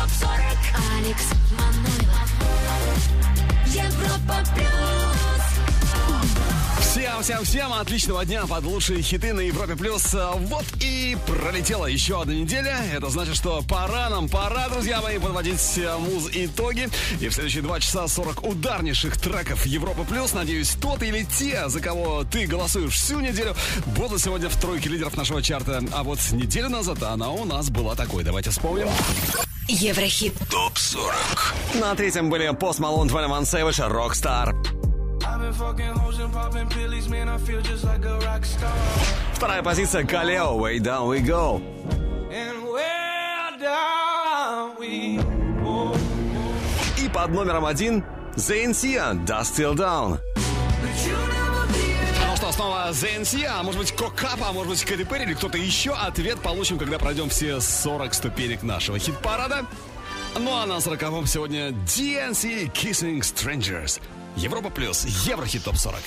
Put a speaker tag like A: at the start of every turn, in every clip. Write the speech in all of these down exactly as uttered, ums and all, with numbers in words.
A: топ сорок. Алекс Манойлов. Европа плюс.
B: Всем, всем, всем отличного дня под лучшие хиты на Европе+. плюс. Вот и пролетела еще одна неделя. Это значит, что пора нам, пора, друзья мои, подводить муз-итоги. И в следующие два часа сорок ударнейших треков Европы+. плюс. Надеюсь, тот или те, за кого ты голосуешь всю неделю, будут сегодня в тройке лидеров нашего чарта. А вот неделю назад она у нас была такой. Давайте вспомним.
A: Еврохит
C: топ сорок.
B: На третьем были Post Malone, двадцать один Savage, Rockstar. Вторая позиция Kaleo, Way Down We Go. И под номером один Zayn Sia, Dust Till Dawn. Ну что, снова Zayn Sia, а может быть Кокапа, а может быть Кэти Перри или кто-то еще. Ответ получим, когда пройдем все сорок ступенек нашего хит-парада. Ну а на сороковом сегодня ди эн си Kissing Strangers. Европа плюс, Еврохит топ сорок.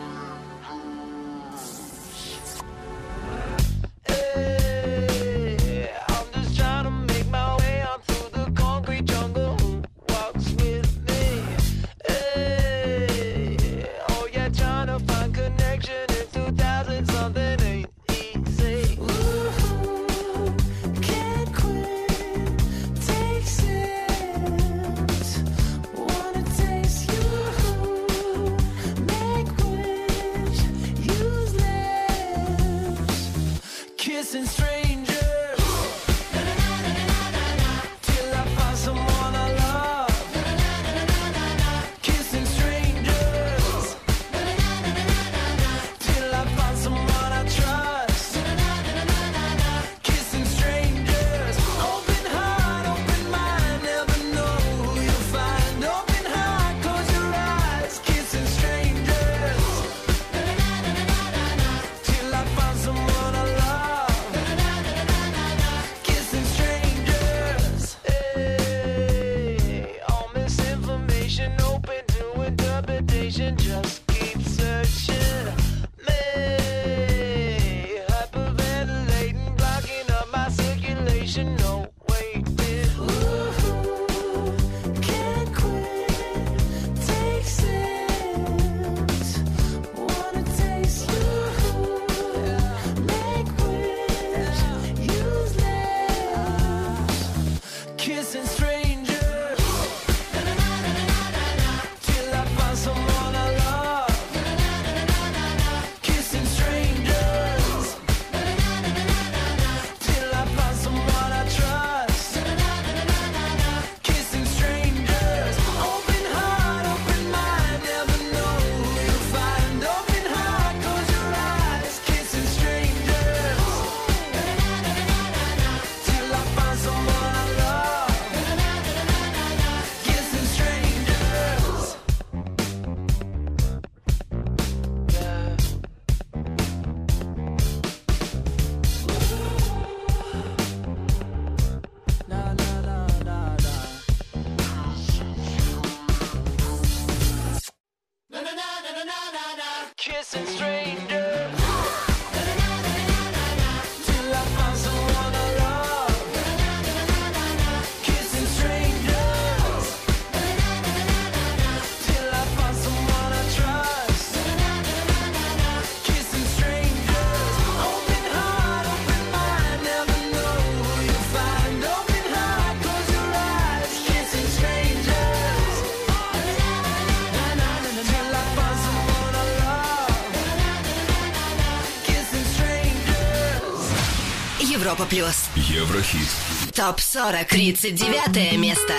A: Европа плюс.
C: Еврохит.
A: топ сорок. тридцать девятое место.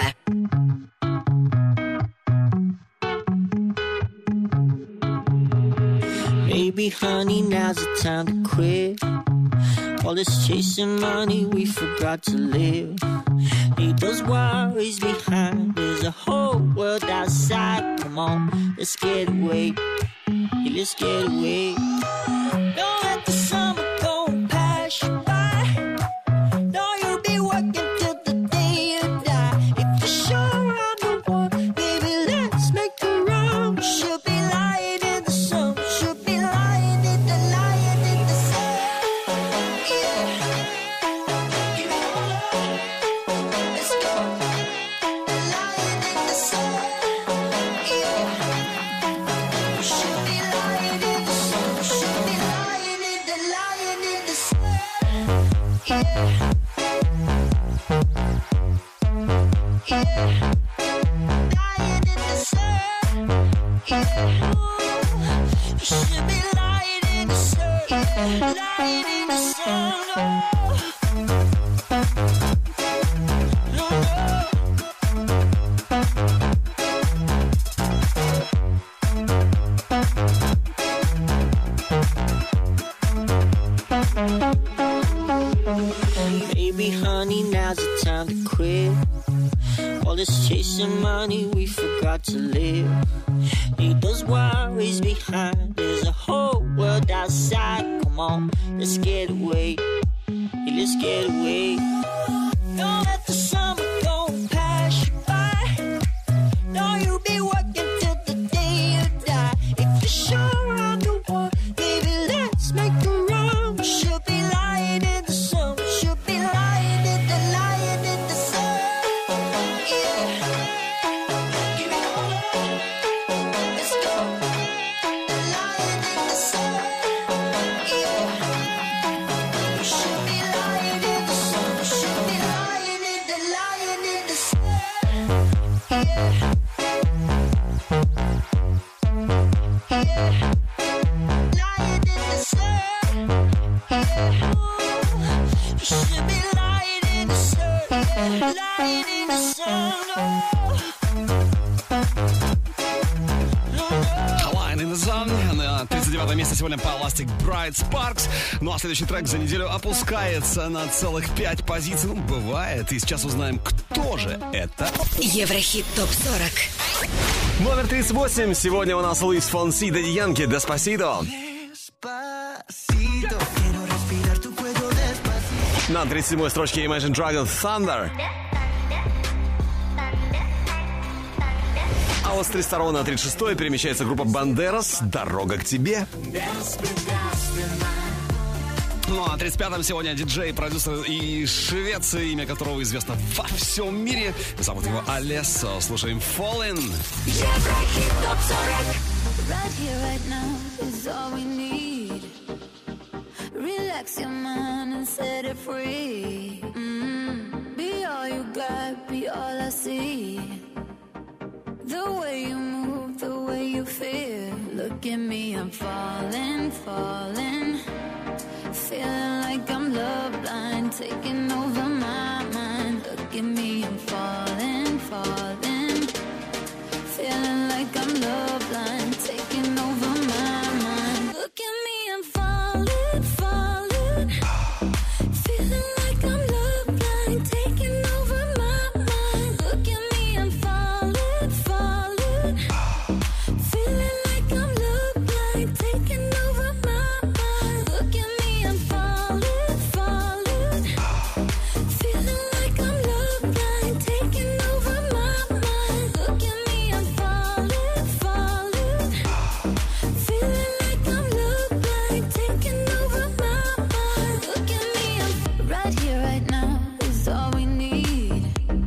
D: Maybe, honey, now's the time to quit. All this chasing money, we forgot to live. Leave those worries behind. There's a whole world outside. Come on, let's get away. Yeah, let's get away. Don't let the summer go and pass you by. No, you'll be working till the day you die. If you're sure I'm the one, baby, let's make a run. She'll be lying in the sun. She'll be lying in the, lying in the sun. Yeah. Let's go. Baby, honey, now's the time to quit. All this chasing money, we forgot to live. Leave those worries behind. There's a whole world outside. Come on, let's get away. Yeah, let's get away. Don't let the summer go pass you by. No, you'll be working till the day you die. If you're sure I'm the one, baby, let's make a run. We should be lying in the sun. We should be lying in the, lying in the sun. Yeah. Give me all up. Let's go. Lying in the sun. Yeah. We should be lying in the sun. We should be lying in the, lying in the sun. Yeah. Lying in the sun. Yeah. You should be lying in the sun. Lying in the sun.
B: Line in the Sun. На тридцать девятое место сегодня Plastic Bright Sparks. Ну а следующий трек за неделю опускается на целых пять позиций. Ну, бывает. И сейчас узнаем, кто же это.
A: Еврохит топ сорок.
B: Номер тридцать восемь. Сегодня у нас Луис Фонси, Дэдди Янки, Деспасито. На тридцать седьмой строчке Imagine Dragons Thunder. А вот с тридцать второго на тридцать шестой перемещается группа Бандерас «Дорога к тебе». Ну а на тридцать пятом сегодня диджей, продюсер и швец, имя которого известно во всем мире. Зовут его Алессо. Слушаем Fallen.
A: Еврохит топ сорок.
E: Right here, right now is all we need. Relax your mind and set it free. Mm. Be all you got, be all I see. The way you move, the way you feel. Look at me, I'm falling, falling. Feeling like I'm love blind, taking over my mind. Look at me, I'm falling, falling. Feeling like I'm love blind, taking over my mind. Look at me, I'm falling, falling. Feeling like I'm love blind, taking over my mind. Look at me, I'm falling, falling. Feeling like I'm love blind, taking over my mind. Look at me, I'm falling, falling. Feeling like I'm love blind, taking over my mind. Look at me, I'm falling, falling. Feeling like I'm love blind, taking over my mind. Look at me, I'm right here, right now is all we need.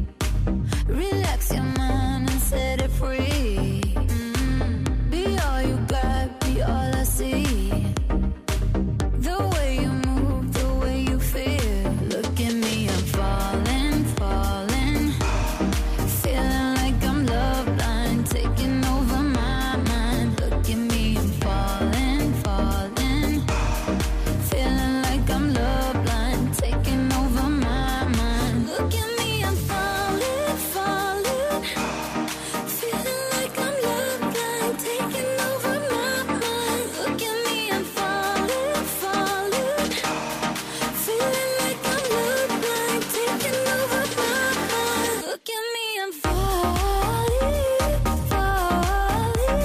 E: Relax your mind and set it free. Mm. Be all you got, be all I see. The way you move, the way you feel. Look at me, I'm falling, falling. Feeling like I'm love blind, taking over my mind. Look at me, I'm falling, falling. Feeling like I'm love blind, taking over my mind. Look at me, I'm falling, falling. Feeling like I'm love blind, taking over my mind. Look at me, I'm falling, falling. Feeling like I'm love blind, taking over my mind. Look at me, I'm falling, falling.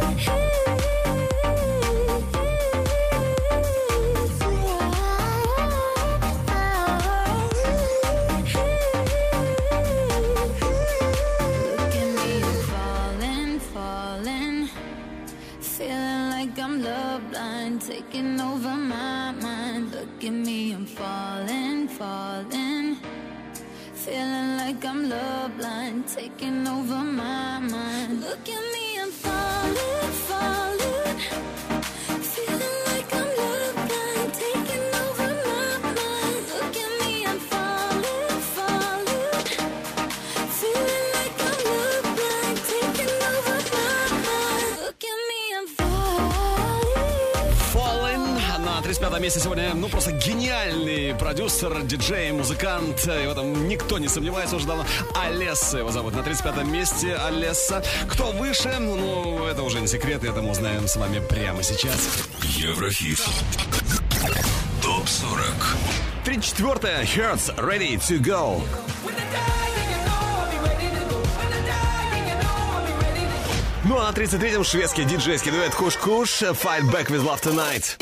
E: Look at me, I'm falling, falling. Feeling like I'm love blind, taking over my mind. Look at me, I'm falling, falling. Feeling like I'm love blind, taking over my mind. Look at me, I'm falling, falling. Feeling like I'm love blind, taking over my mind. Look at
B: тридцатом месте сегодня, ну, просто гениальный продюсер, диджей, музыкант. И в этом никто не сомневается уже давно. Алесса его зовут. На тридцать пятом месте Алесса. Кто выше? Ну, это уже не секрет. Это мы узнаем с вами прямо сейчас.
C: Еврохит. топ сорок.
B: тридцать четвёртое. Hertz, Ready to Go. Ну а на тридцать третьем шведский диджейский дуэт Куш-Куш Fight Back with Love Tonight.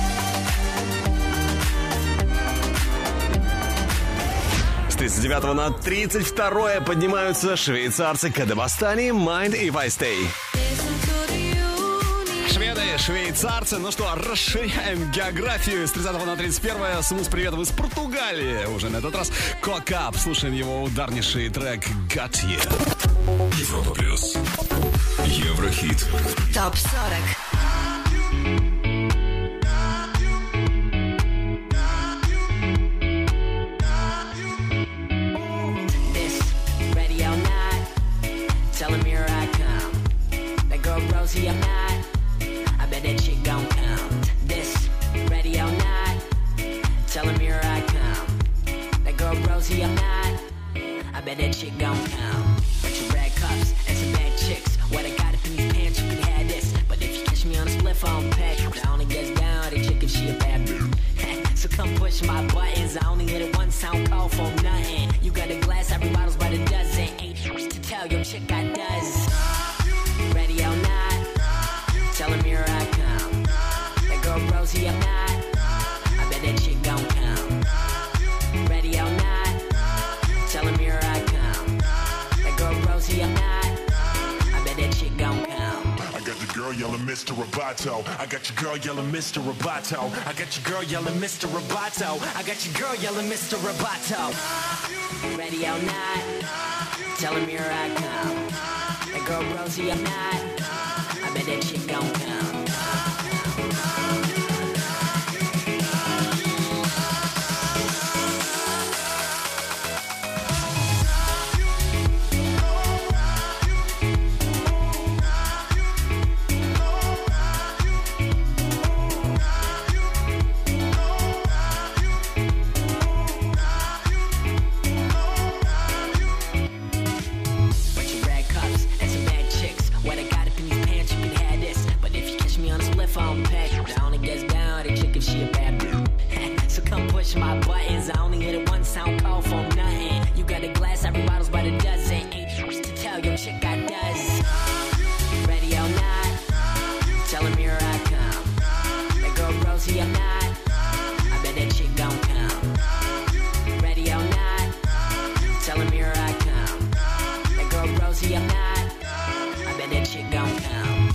B: С тридцать девятого на тридцать второе поднимаются швейцарцы Кадебастани Mind If I Stay. Шведы, швейцарцы. Ну что, расширяем географию. С тридцатого на тридцать первое. Смус приветов из Португалии. Уже на этот раз Кокап. Слушаем его ударнейший трек Got You.
C: Европа плюс. Еврохит.
A: топ сорок.
F: Rosie, I'm not. I bet that chick gon' come. This ready or not? Tell him here I come. That girl Rosie, I'm not. I bet that chick gon' come. Bunch of red cups and some bad chicks. What I got up in these pants, you can have this. But if you catch me on a spliff, I don't pack. I only gets down the chick if she a bad bitch. So come push my buttons. I only hit it once, I don't call for nothing. You got a glass, every bottle's by the dozen. Ain't shit to tell your chick I does. Ready or not? Tell him here I come. That girl Rosie, I'm not. I bet that chick gon' come. Ready or not? Tell him here I come. That girl Rosie, I'm not. I bet that chick gon' come.
G: I got the girl yelling Mister Roboto. I got your girl yelling Mister Roboto. I got your girl yelling Mister Roboto. I got your girl yelling Mister Roboto.
F: Ready or not? Tell him here I come. That girl Rosie, I'm not. I bet that chick gon' come. My buttons, I only hit it once, I don't call for nothing. You got a glass, every bottle's by the dozen. Ain't shit to tell your chick I does. Ready or not? Tell him here I come. That girl Rosie, I'm not. I bet that chick gon' come. Ready or not? Tell him here I come. That girl Rosie, I'm not. I bet that chick gon' come.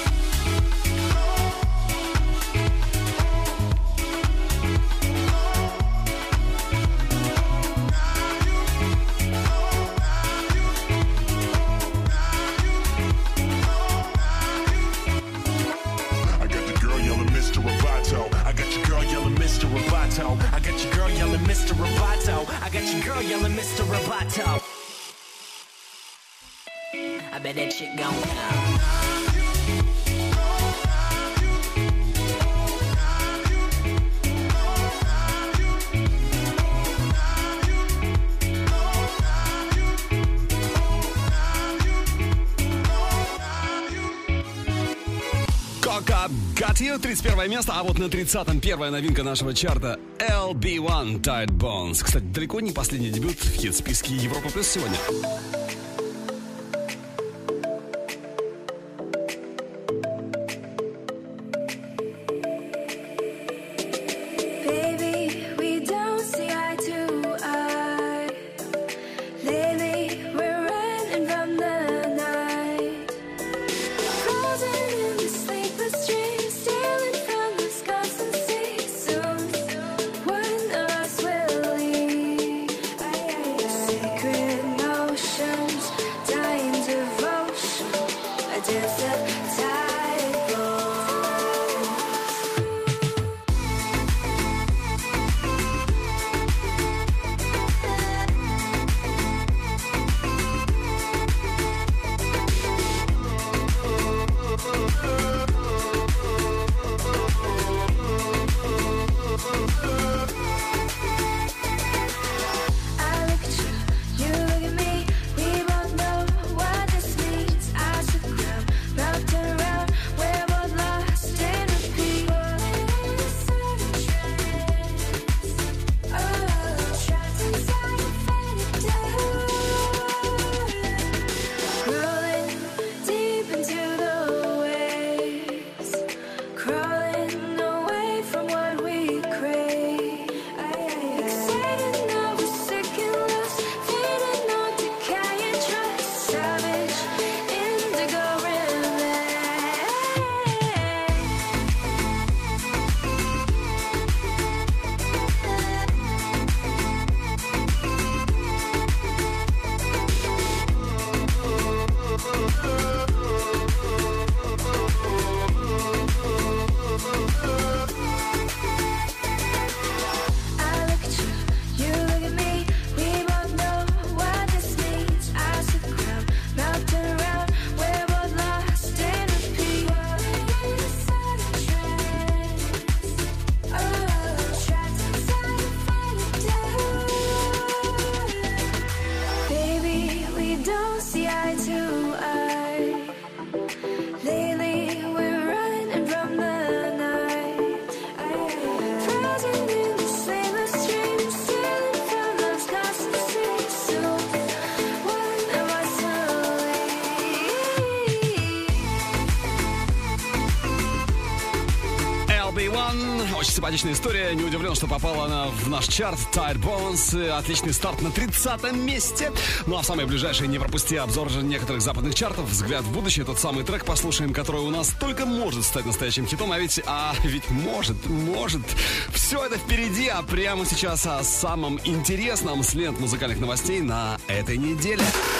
G: I got your girl yelling Mister Roboto. I got your girl yelling Mister Roboto.
F: I bet that chick gon' come.
B: Cock-Up Got You, тридцать первое место, а вот на тридцатом первая новинка нашего чарта эл би один Tight Bones. Кстати, далеко не последний дебют в хит-списке Европа Плюс сегодня.
E: Secret motion.
B: Очень симпатичная история. Не удивлен, что попала она в наш чарт. Tight Bones. Отличный старт на тридцатом месте. Ну а в самые ближайшие не пропусти обзор же некоторых западных чартов. Взгляд в будущее. Тот самый трек послушаем, который у нас только может стать настоящим хитом. А ведь, а ведь может, может. Все это впереди. А прямо сейчас о самом интересном с лент музыкальных новостей на этой неделе.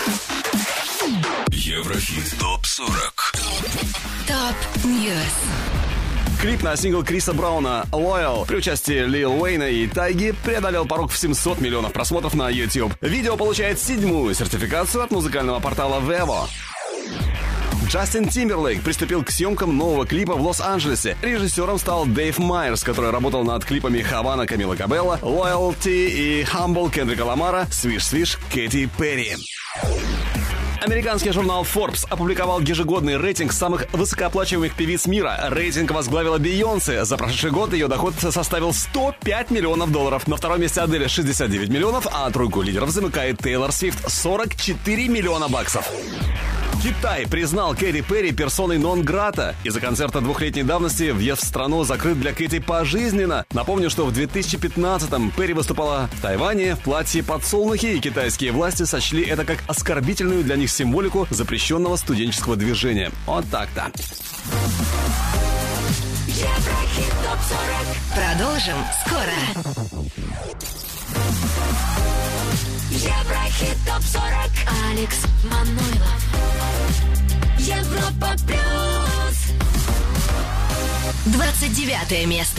C: Еврохит топ сорок.
A: Топ Ньюс.
B: Клип на сингл Криса Брауна «Loyal» при участии Лил Уэйна и Тайги преодолел порог в семьсот миллионов просмотров на YouTube. Видео получает седьмую сертификацию от музыкального портала Vevo. Джастин Тимберлейк приступил к съемкам нового клипа в Лос-Анджелесе. Режиссером стал Дэйв Майерс, который работал над клипами «Havana» Камила Кабелло, «Loyalty» и «Humble» Кендрика Ламара, «Свиш Свиш» Кэти Перри. Американский журнал Forbes опубликовал ежегодный рейтинг самых высокооплачиваемых певиц мира. Рейтинг возглавила Бейонсе. За прошедший год ее доход составил сто пять миллионов долларов. На втором месте Адель шестьдесят девять миллионов, а тройку лидеров замыкает Тейлор Свифт сорок четыре миллиона баксов. Китай признал Кэти Перри персоной нон-грата. Из-за концерта двухлетней давности въезд в страну закрыт для Кэти пожизненно. Напомню, что в две тысячи пятнадцатом Перри выступала в Тайване в платье подсолнухи, и китайские власти сочли это как оскорбительную для них символику запрещенного студенческого движения. Вот так-то.
A: Еврохит топ сорок. Продолжим скоро. Еврохит топ сорок. Алекс Манойлов. Европа плюс. Двадцать девятое место.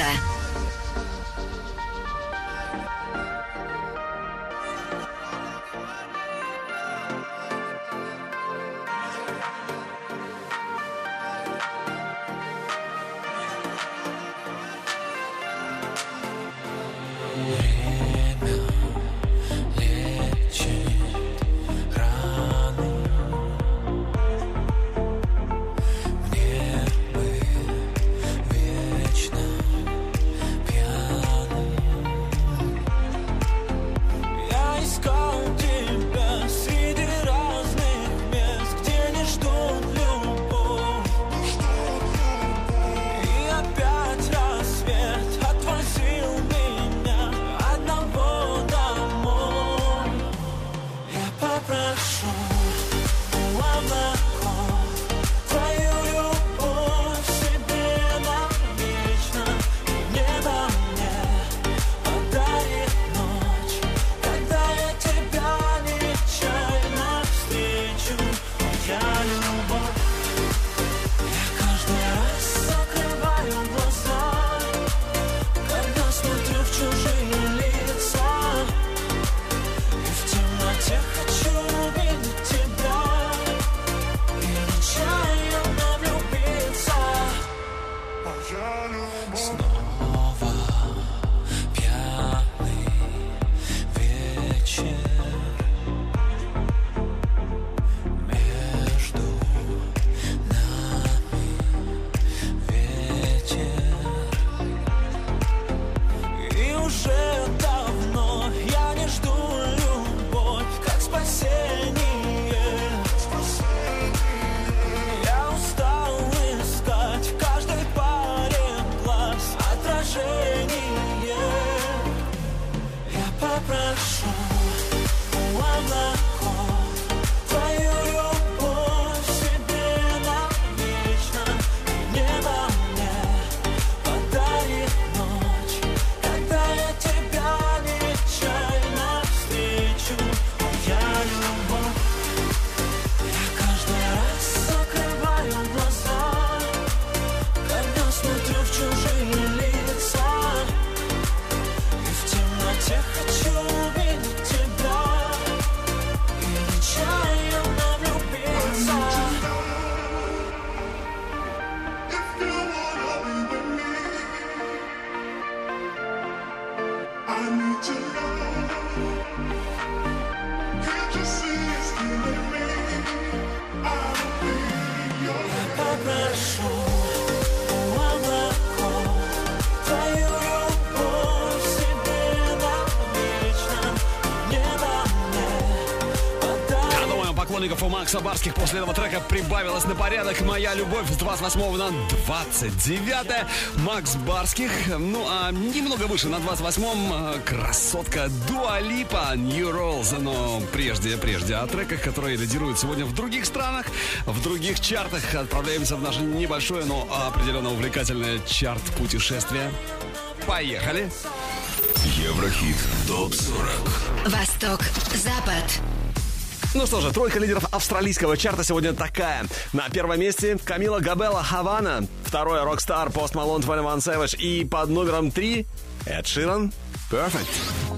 B: поклонников у Макса Барских после этого трека прибавилось на порядок. «Моя любовь» с двадцать восьмого на двадцать девятое. Макс Барских. Ну, а немного выше на двадцать восьмом красотка Дуа Липа, New Rules. Но прежде, прежде о треках, которые лидируют сегодня в других странах, в других чартах, отправляемся в наше небольшое, но определенно увлекательное чарт-путешествие. Поехали!
C: Еврохит топ сорок.
A: Восток, Запад.
B: Ну что же, тройка лидеров австралийского чарта сегодня такая. На первом месте Камила Габелла «Havana». Второе — Rockstar, Post Malone, двадцать один Savage. И под номером три Эд Ширан «Perfect».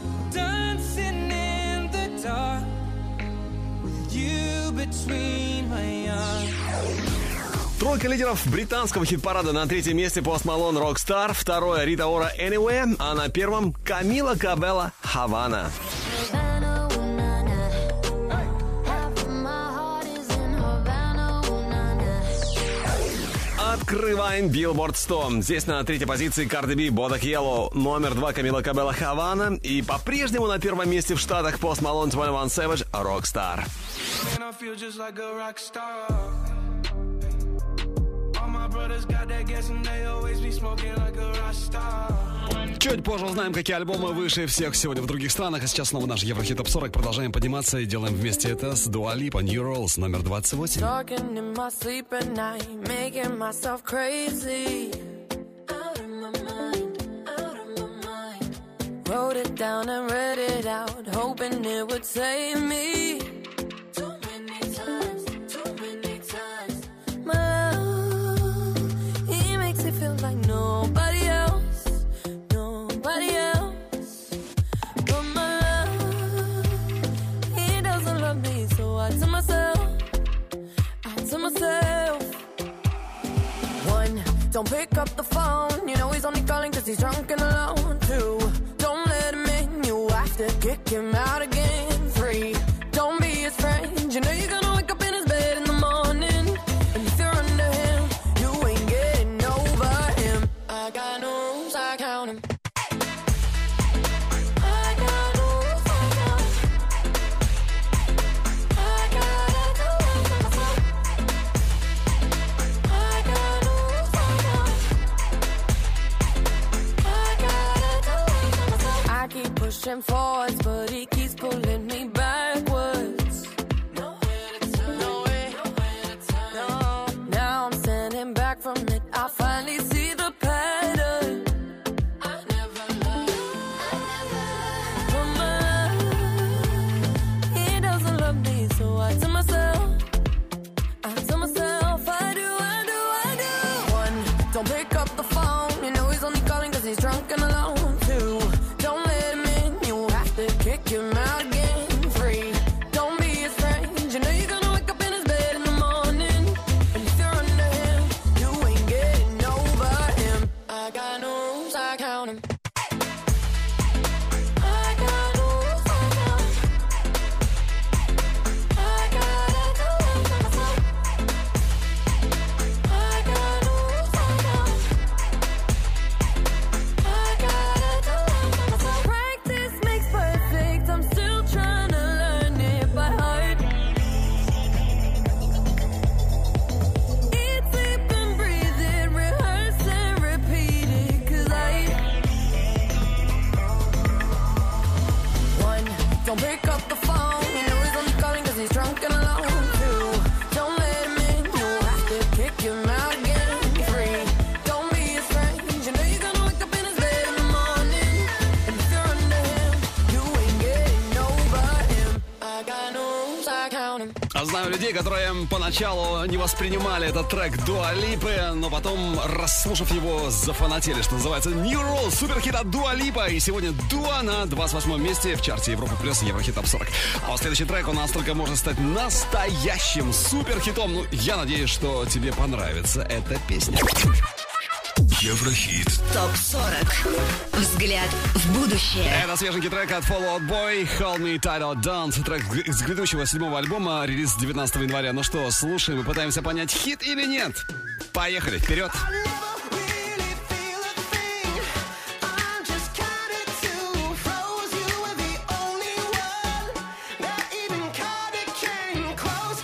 B: Тройка лидеров британского хит-парада. На третьем месте Post Malone «Rockstar», второе — Рита Ора «Anywhere», а на первом Камила Габелла «Havana». Открываем Billboard сто. Здесь на третьей позиции Cardi B, Bodak Yellow, номер два Камила Кабелла «Havana». И по-прежнему на первом месте в Штатах Post Malone, двадцать один Savage, «Rockstar». Чуть позже узнаем, какие альбомы выше всех сегодня в других странах. А сейчас снова наш Еврохит топ сорок. Продолжаем подниматься и делаем вместе это с Дуа Липа, New Rules, номер двадцать восемь.
H: Wrote it down and read it out, hoping it would save me. Too many times, too many times. My love, he makes it feel like nobody else, nobody else. But my love, he doesn't love me, so I tell myself, I tell myself. One, don't pick up the phone, you know he's only calling 'cause he's drunk and alone. Two, to kick him out again. Three, don't be his friend. You know you're gonna wake up in his bed in the morning. And if you're under him, you ain't getting over him. I got no rules, I count him. I got no rules, I count him. I gotta do it for myself. I got no rules, I count him. I gotta do it for myself. I keep pushing forwards, but he keeps pulling me backwards. Nowhere to turn, nowhere, nowhere to turn. No. Now I'm standing back from it. I finally see the pattern. I never loved, I never loved. But my love, he doesn't love me, so I tell myself, I tell myself, I do, I do, I do. One, don't pick up the phone. You know he's only calling 'cause he's drunk and alone. Two, kick him out again. Three, don't be his friend. You know you're gonna wake up in his bed in the morning. And if you're under him, you ain't getting over him. I got no rules, I count him. I got no rules, I count him. I gotta do it for myself. I got no rules, I count him. I gotta do it for myself. Practice makes perfect. I'm still trying to learn it by heart. Eat, sleep and breathe it, rehearse and repeat it. 'Cause I One, don't pick up the phone. You know he's only calling 'cause he's drunk and alone. Two, don't let him in. You have to kick him out again. Three, don't be his friend. You know you're gonna wake up in his bed in the morning. And if you're under him, you ain't getting over him. I got no rules, I count him.
B: А знаю людей, которые поначалу не воспринимали этот трек Дуа Липы, но потом, расслушав его, зафанатели, что называется. New Rules, суперхит от Дуа Липа. И сегодня Дуа на двадцать восьмом месте в чарте Европа Плюс Еврохит топ сорок. А вот следующий трек у нас только может стать настоящим суперхитом. Ну, я надеюсь, что тебе понравится эта песня.
C: Еврохит
A: топ сорок. Взгляд в будущее.
B: Это свеженький трек от Fall Out Boy, Hold Me Tight or Don't. Трек с грядущего седьмого альбома, релиз девятнадцатого января. Ну что, слушаем и пытаемся понять, хит или нет. Поехали, вперед!
H: Close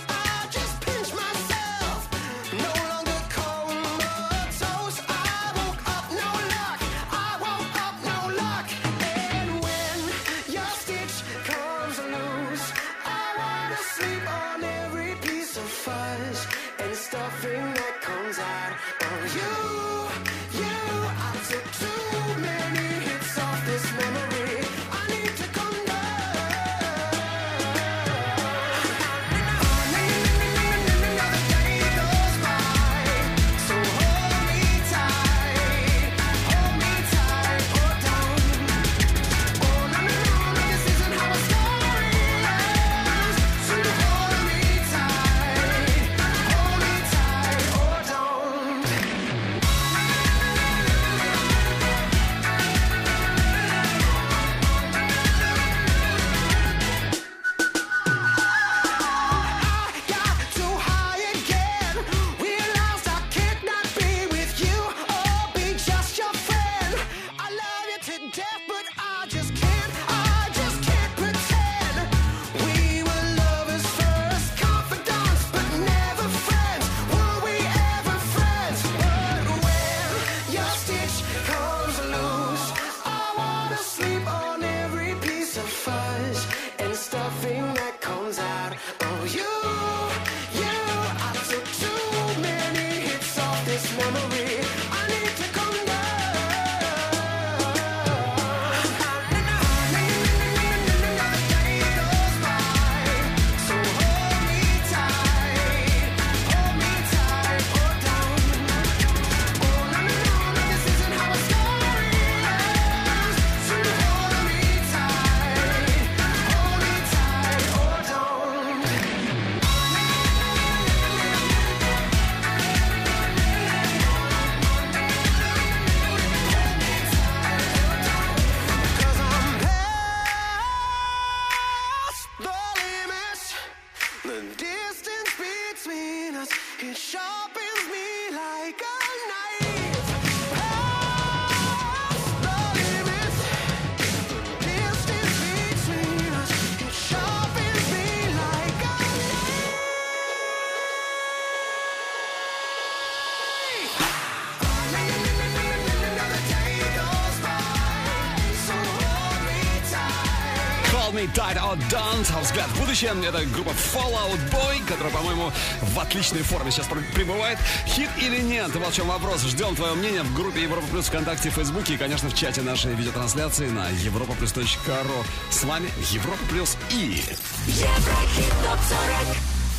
B: Die or Don't. Взгляд в будущее. Это группа Fall Out Boy, которая, по-моему, в отличной форме сейчас пребывает. Хит или нет? Вот в чем вопрос. Ждем твое мнение в группе Европа Плюс ВКонтакте, в Фейсбуке и, конечно, в чате нашей видеотрансляции на европа плюс точка ру. С вами Европа Плюс и...
I: Еврохит топ сорок.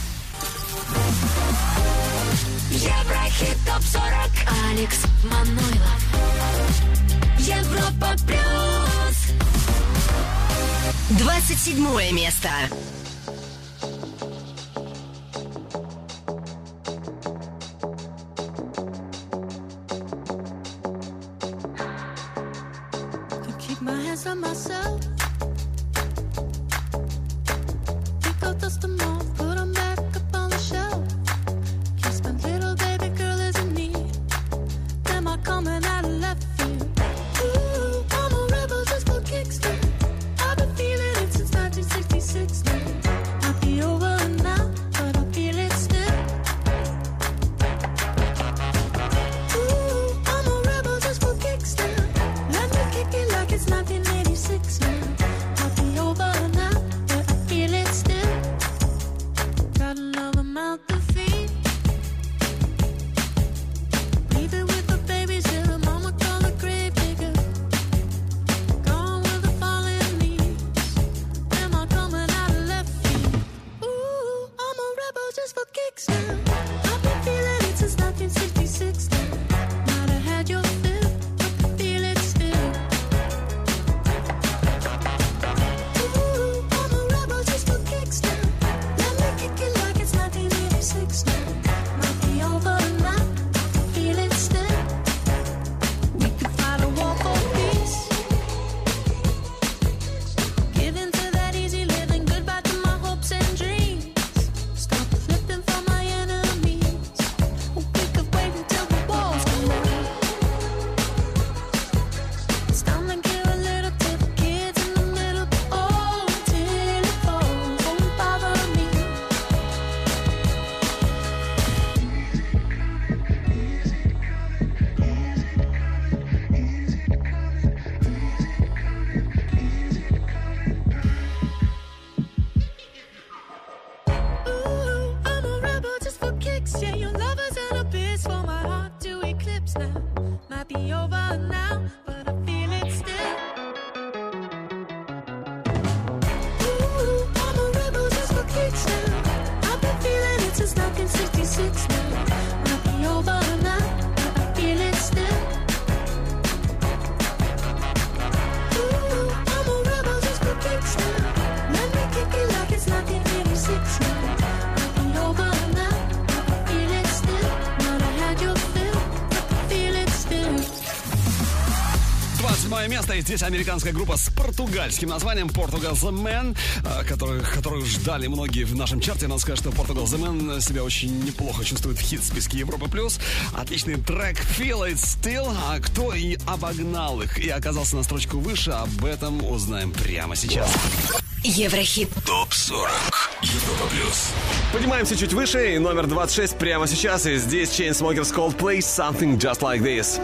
I: Еврохит топ сорок.
A: Алекс Манойлов.
I: Европа Плюс.
A: двадцать седьмое место.
B: Место, и здесь американская группа с португальским названием Portugal The Man, которых, которых ждали многие в нашем чарте. Надо сказать, что Portugal The Man себя очень неплохо чувствует в хит-списке Европа Плюс. Отличный трек Feel It Still. А кто и обогнал их и оказался на строчку выше, об этом узнаем прямо сейчас.
A: Еврохит
C: топ сорок. Европа Плюс.
B: Поднимаемся чуть выше, и номер двадцать шесть прямо сейчас. И здесь Chainsmokers Coldplay Something Just Like This.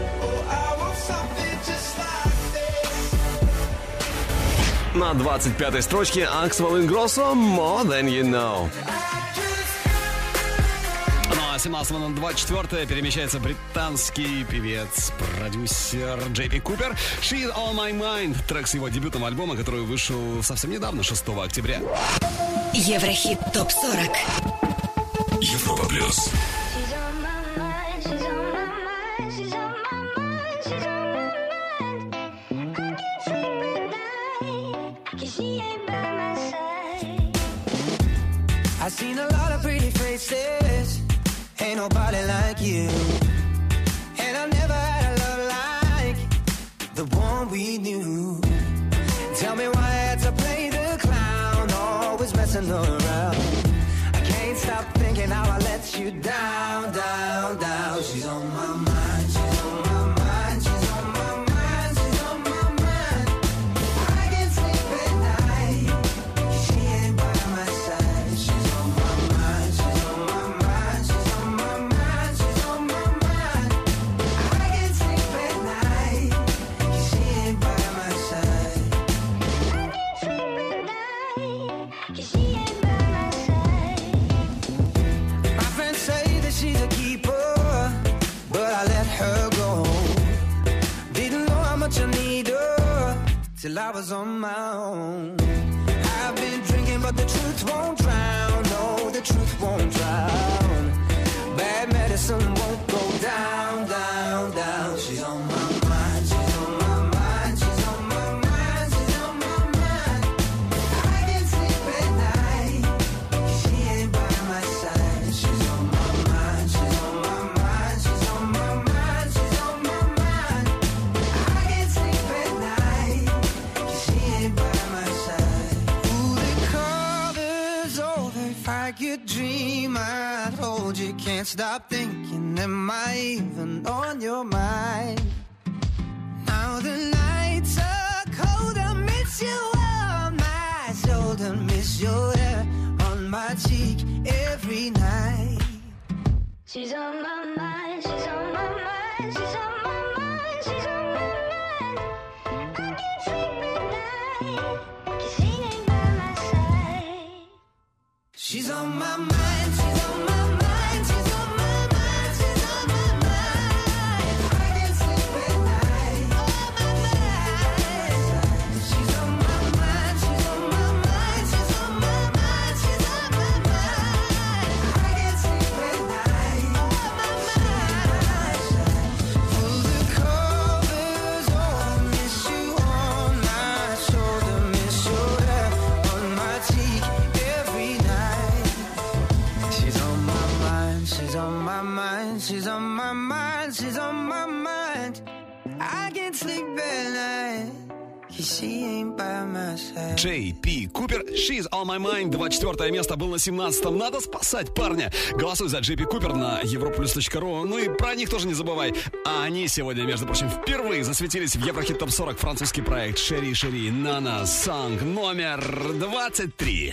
B: На двадцать пятой строчке Axwell Ingrosso More Than You Know. Ну а семнадцатого на двадцать четвёртое перемещается британский певец, продюсер Джей Пи Купер. She's On My Mind, трек с его дебютного альбома, который вышел совсем недавно, шестого октября.
A: Еврохит топ сорок.
C: Европа Плюс.
J: I've seen a lot of pretty faces, ain't nobody like you. And I never had a love like the one we knew. Tell me why I had to play the clown, always messing around. I can't stop thinking how I let you down, down, down. She's on my mind, she's on my mind, she's on my mind, she's on my mind. I can't sleep at night, she ain't by my side. She's on my mind, she's on my mind, she's on my mind, she's on my mind. I can't sleep at night, she ain't by my side. I can't sleep at night. till I was on my own. I've been drinking, but the truth won't drown. No, the truth won't drown. Bad medicine won't go down, down, down. She's on my mind, she's on my mind, she's on my mind, she's on my mind. I can't sleep at night, she ain't by my side. She's on my mind, she's on my mind, she's on my mind, she's on my mind. I can't sleep at night, she ain't by my side. Ooh, the cover's over if I could dream. I told you can't stop thinking. Am I even on your mind? Now the nights are cold, I miss you on my shoulder, miss your hair on my cheek every night.
I: She's on my mind, she's on my mind, she's on my mind, she's on my mind. I can't sleep at night, 'cause she ain't by my side.
J: She's on my mind, she's on my mind, she's on my mind, she's on my mind. I can't sleep at night, on my mind. She's on my mind, she's on my mind, she's on my mind, she's on my mind. I can't sleep at night, on my mind. Pull the covers over, miss you on my shoulder, miss your hair on my cheek every night. She's on my mind, she's on my mind, she's on my mind, she's on my mind. I can't sleep at night, 'cause she ain't by my side.
B: Джей Пи Купер, She's on my mind. двадцать четвёртое место был на семнадцатом. Надо спасать парня. Голосуй за Джей Пи Купер на европлюс точка ру. Ну и про них тоже не забывай. А они сегодня, между прочим, впервые засветились в Еврохит Топ сорок. Французский проект Шери Шери Нана Сонг номер двадцать три.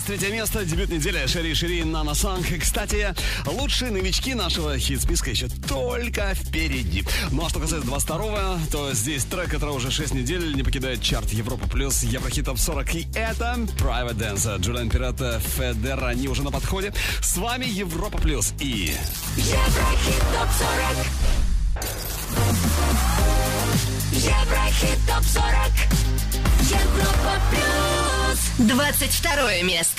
B: двадцать третье место, дебют недели Шери Шери Нана Санг. Кстати, лучшие новички нашего хит-списка еще только впереди. Ну а что касается двадцать второго, то здесь трек, который уже шесть недель не покидает чарт Европа Плюс, Еврохит Топ сорок. И это Private Dancer, Джулиан Пирата, Федера. Они уже на подходе. С вами Европа Плюс и...
K: Еврохит Топ сорок. Еврохит Топ сорок. Европа Плюс.
A: двадцать второе место.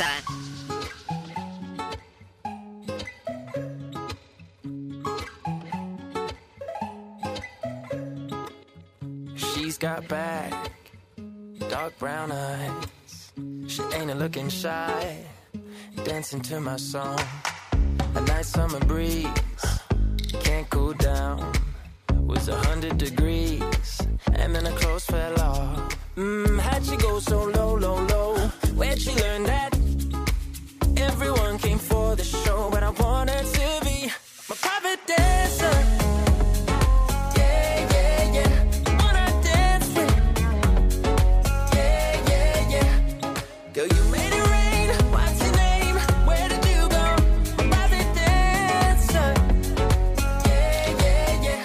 L: She's got back, dark brown eyes. She ain't a looking shy, dancing to my song. A nice summer breeze, can't cool down. Was a hundred degrees, and then her clothes fell off. Mmm, how'd she go so low, low, low? Where'd she learn that? Everyone came for the show, but I wanted to be my private dancer. Yeah, yeah, yeah. Wanna dance with? Yeah, yeah, yeah. Girl, you made it rain. What's your name? Where did you go? My private dancer. Yeah, yeah, yeah.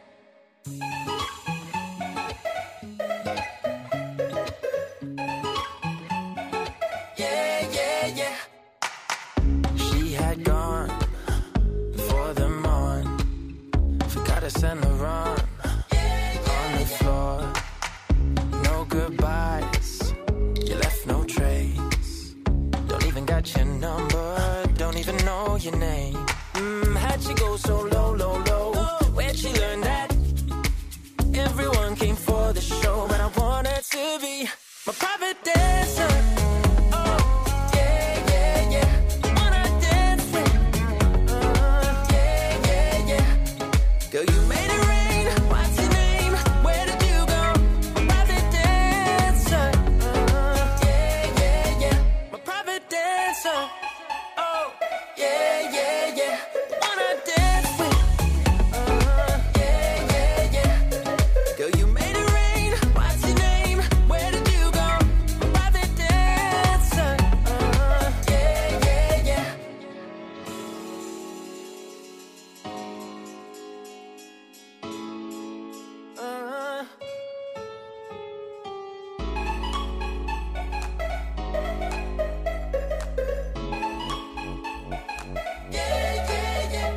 L: Yeah, yeah, yeah. She had gone before the morn. Forgot to send her on on the floor. No goodbyes, you left no trace. Don't even got your number, don't even know your name. Mmm, how'd she go so low, low, low? Where'd she learn that? Everyone came for the show, but I wanted to be my private dancer. Oh, yeah, yeah, yeah. Wanna dance with? Uh, yeah, yeah, yeah. Girl, you made it rain. What's your name? Where did you go? My private dancer. Uh, yeah, yeah, yeah. My private dancer. Oh, yeah, yeah, yeah. Wanna dance with? Uh, yeah, yeah, yeah. Girl, you made it rain. What's your name? Where did you go? My private dancer. Uh, yeah, yeah, yeah. Uh. Yeah, yeah, yeah.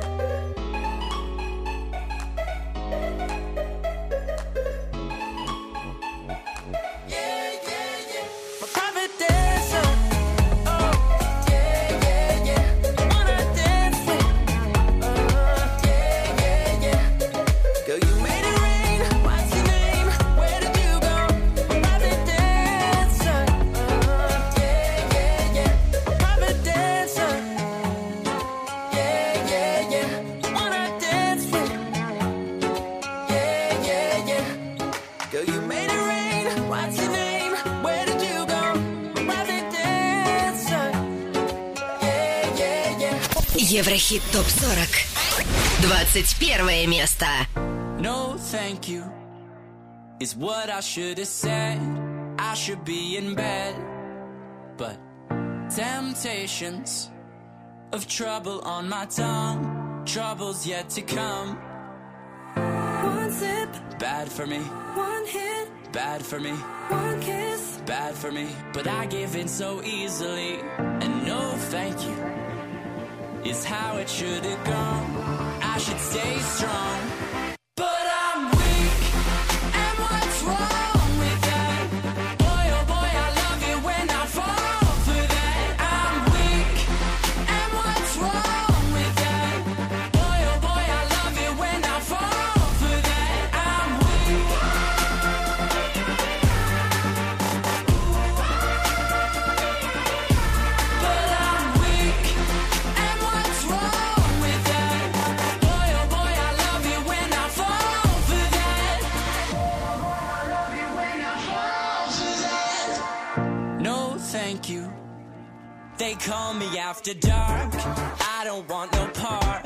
L: Yeah, yeah, yeah. My private dancer. Oh, yeah, yeah, yeah. Wanna dance with? Uh, yeah, yeah, yeah. Girl, you made it rain. What's your name? Where did you go? My private dancer. Uh, yeah, yeah, yeah. My private dancer. Yeah, yeah, yeah. Wanna dance with? Yeah, yeah, yeah. Girl, you made it rain. What's your name? Where did you go? My private dancer. Yeah, yeah, yeah.
A: Еврохит Топ сорок. двадцать первое место.
L: No, thank you is what I should have said. I should be in bed, but temptations of trouble on my tongue, troubles yet to come.
H: One sip,
L: Bad for me,
H: one hit,
L: bad for me,
H: one kiss.
L: bad for me. But I give in so easily, and no, thank you is how it should have gone. I should stay strong, but I'm weak. And what's wrong with that? Boy, oh boy, I love it when I fall for that. I'm weak. And what's wrong with that? Boy, oh boy, I love it when I fall for that. I'm weak. But I'm weak. And what's wrong with that? Boy, oh boy, I love it when I fall for that. No, thank you. They call me after dark. I don't want no part.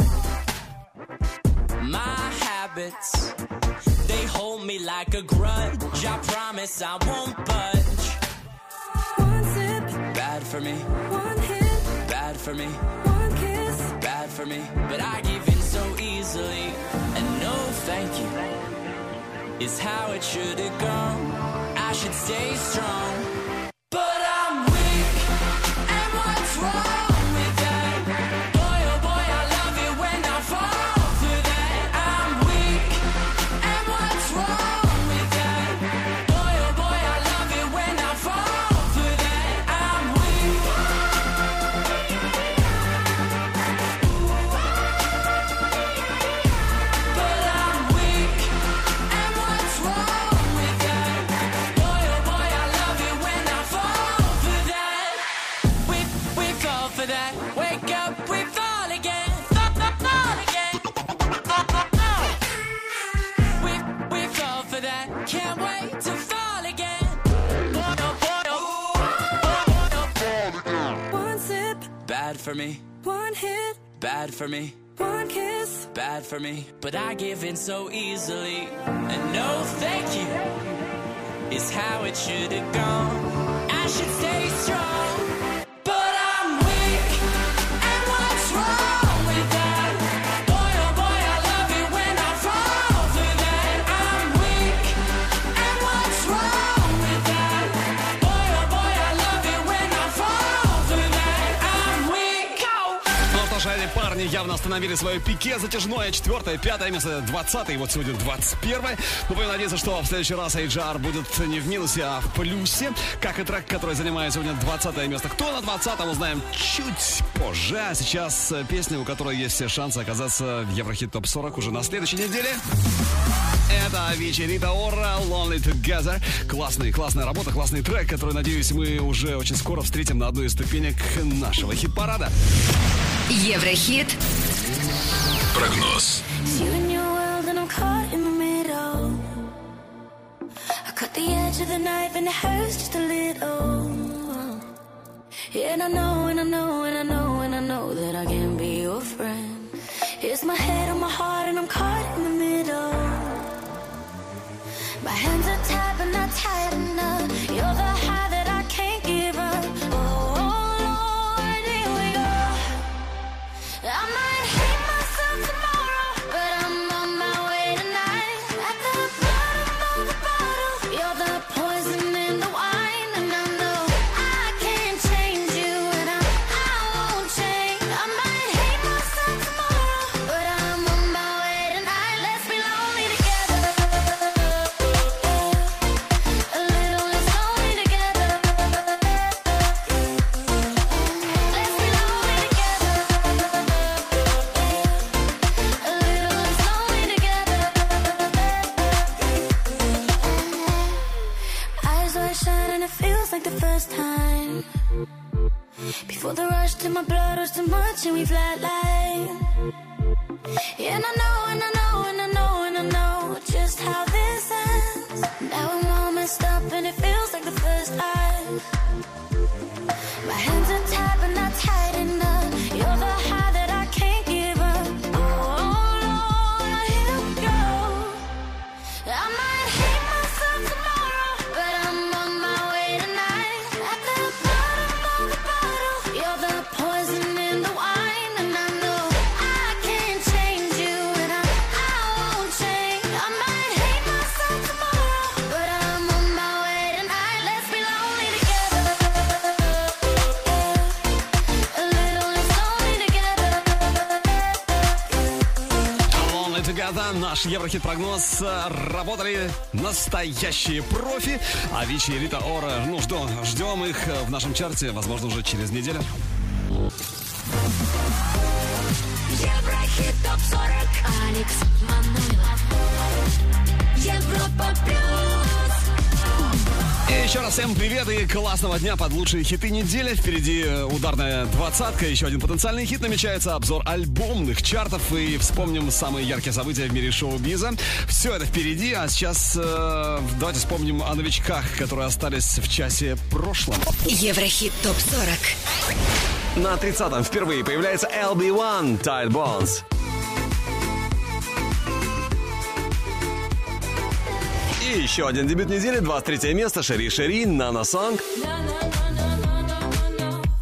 L: My habits, they hold me like a grudge. I promise I won't budge.
H: One sip,
L: Bad for me. One hit, bad for me. One kiss, bad for me. But I give in so easily, and no thank you is how it should have gone. I should stay strong, but I'm weak, and what's wrong with that? Boy, oh boy, I love it when I fall for that. I'm weak, and what's wrong with that? Boy, oh boy, I love it when I fall for that. I'm weak. But I'm weak, and what's wrong with that? Boy, oh boy, I love it when I fall for that. We, we fall for that. Wake up, we fall again. Fall, fall, fall again. Fall, fall, fall. We, we fall for that. Can't wait to fall again. Boy, oh boy, oh. Boy, oh, oh. One sip, bad for me. One hit, bad for me. One kiss, bad for me. But I give in so easily, and no thank you is how it should have gone. I should stay strong, but I'm weak, and what's wrong with that? Boy, oh boy, I love it when I fall for that. I'm weak, and what's wrong with that? Boy, oh boy, I love it when I fall for that. I'm weak.
B: Ну что ж, эти парни явно остановили свое пике затяжное. Четвертое, пятое место, двадцатое, и вот сегодня двадцать первое. Мы будем надеяться, что в следующий раз эйч ар будет не в минусе, а в плюсе. Как и трек, который занимает сегодня двадцатое место. Кто на двадцатом, узнаем чуть позже. А сейчас песня, у которой есть все шансы оказаться в Еврохит топ сорок уже на следующей неделе. Это Avicii, Rita Ora, Lonely Together. Классный, классная работа, классный трек, который, надеюсь, мы уже очень скоро встретим на одной из ступенек нашего хит-парада.
A: Еврохит.
C: Прогноз.
H: You in your world and I'm caught in the middle. I cut the edge of the knife and it hurts just a little. Yeah, and I know, and I know, and I know, and I know that I can be your friend. Here's my head on my heart and I'm caught in the middle. My hands are tied but not tight enough. You're the high that I can't give up. Oh, Lord, here we go. I might hate myself tomorrow, but I'm on my way tonight. At the bottom of the bottle, you're the poison in the wine. And I know I can't change you, and I, I won't change. I might hate myself tomorrow, but I'm on my way tonight. Let's be lonely together. A little less lonely together. Let's be lonely together. A little less lonely together. Eyes wide shut and it feels like the first time. Before the rush to my blood was too much and we flatline. Yeah, and I know, and I know, and I know, and I know just how this ends. Now I'm all messed up and it feels like the first time. My hands are tied but not tight enough. You're the high that I can't give up. Oh, Lord, here we go. I might hate myself tomorrow, but I'm on my way tonight. At the bottom of the bottle, you're the poison in the wine. And I know I can't change you, and I, I won't change. I might hate myself tomorrow, but I'm on my way tonight. Let's be lonely together. A little less lonely together.
B: Lonely Together, наш Еврохит-прогноз. Работали настоящие профи. Avicii и Rita Ora. Ну, ждем, ждем их в нашем чарте, возможно, уже через неделю.
K: Еврохит топ сорок. Алекс Манойлов. Европа плюс.
B: И еще раз всем привет и классного дня под лучшие хиты недели. Впереди ударная двадцатка, еще один потенциальный хит. Намечается обзор альбомных чартов. И вспомним самые яркие события в мире шоу-биза. Все это впереди, а сейчас э, давайте вспомним о новичках, которые остались в часе прошлом.
A: Еврохит топ сорок.
B: На тридцатом впервые появляется эл би один Tight Bones. И еще один дебют недели, двадцать третье место, Шери Шери, Nana Song.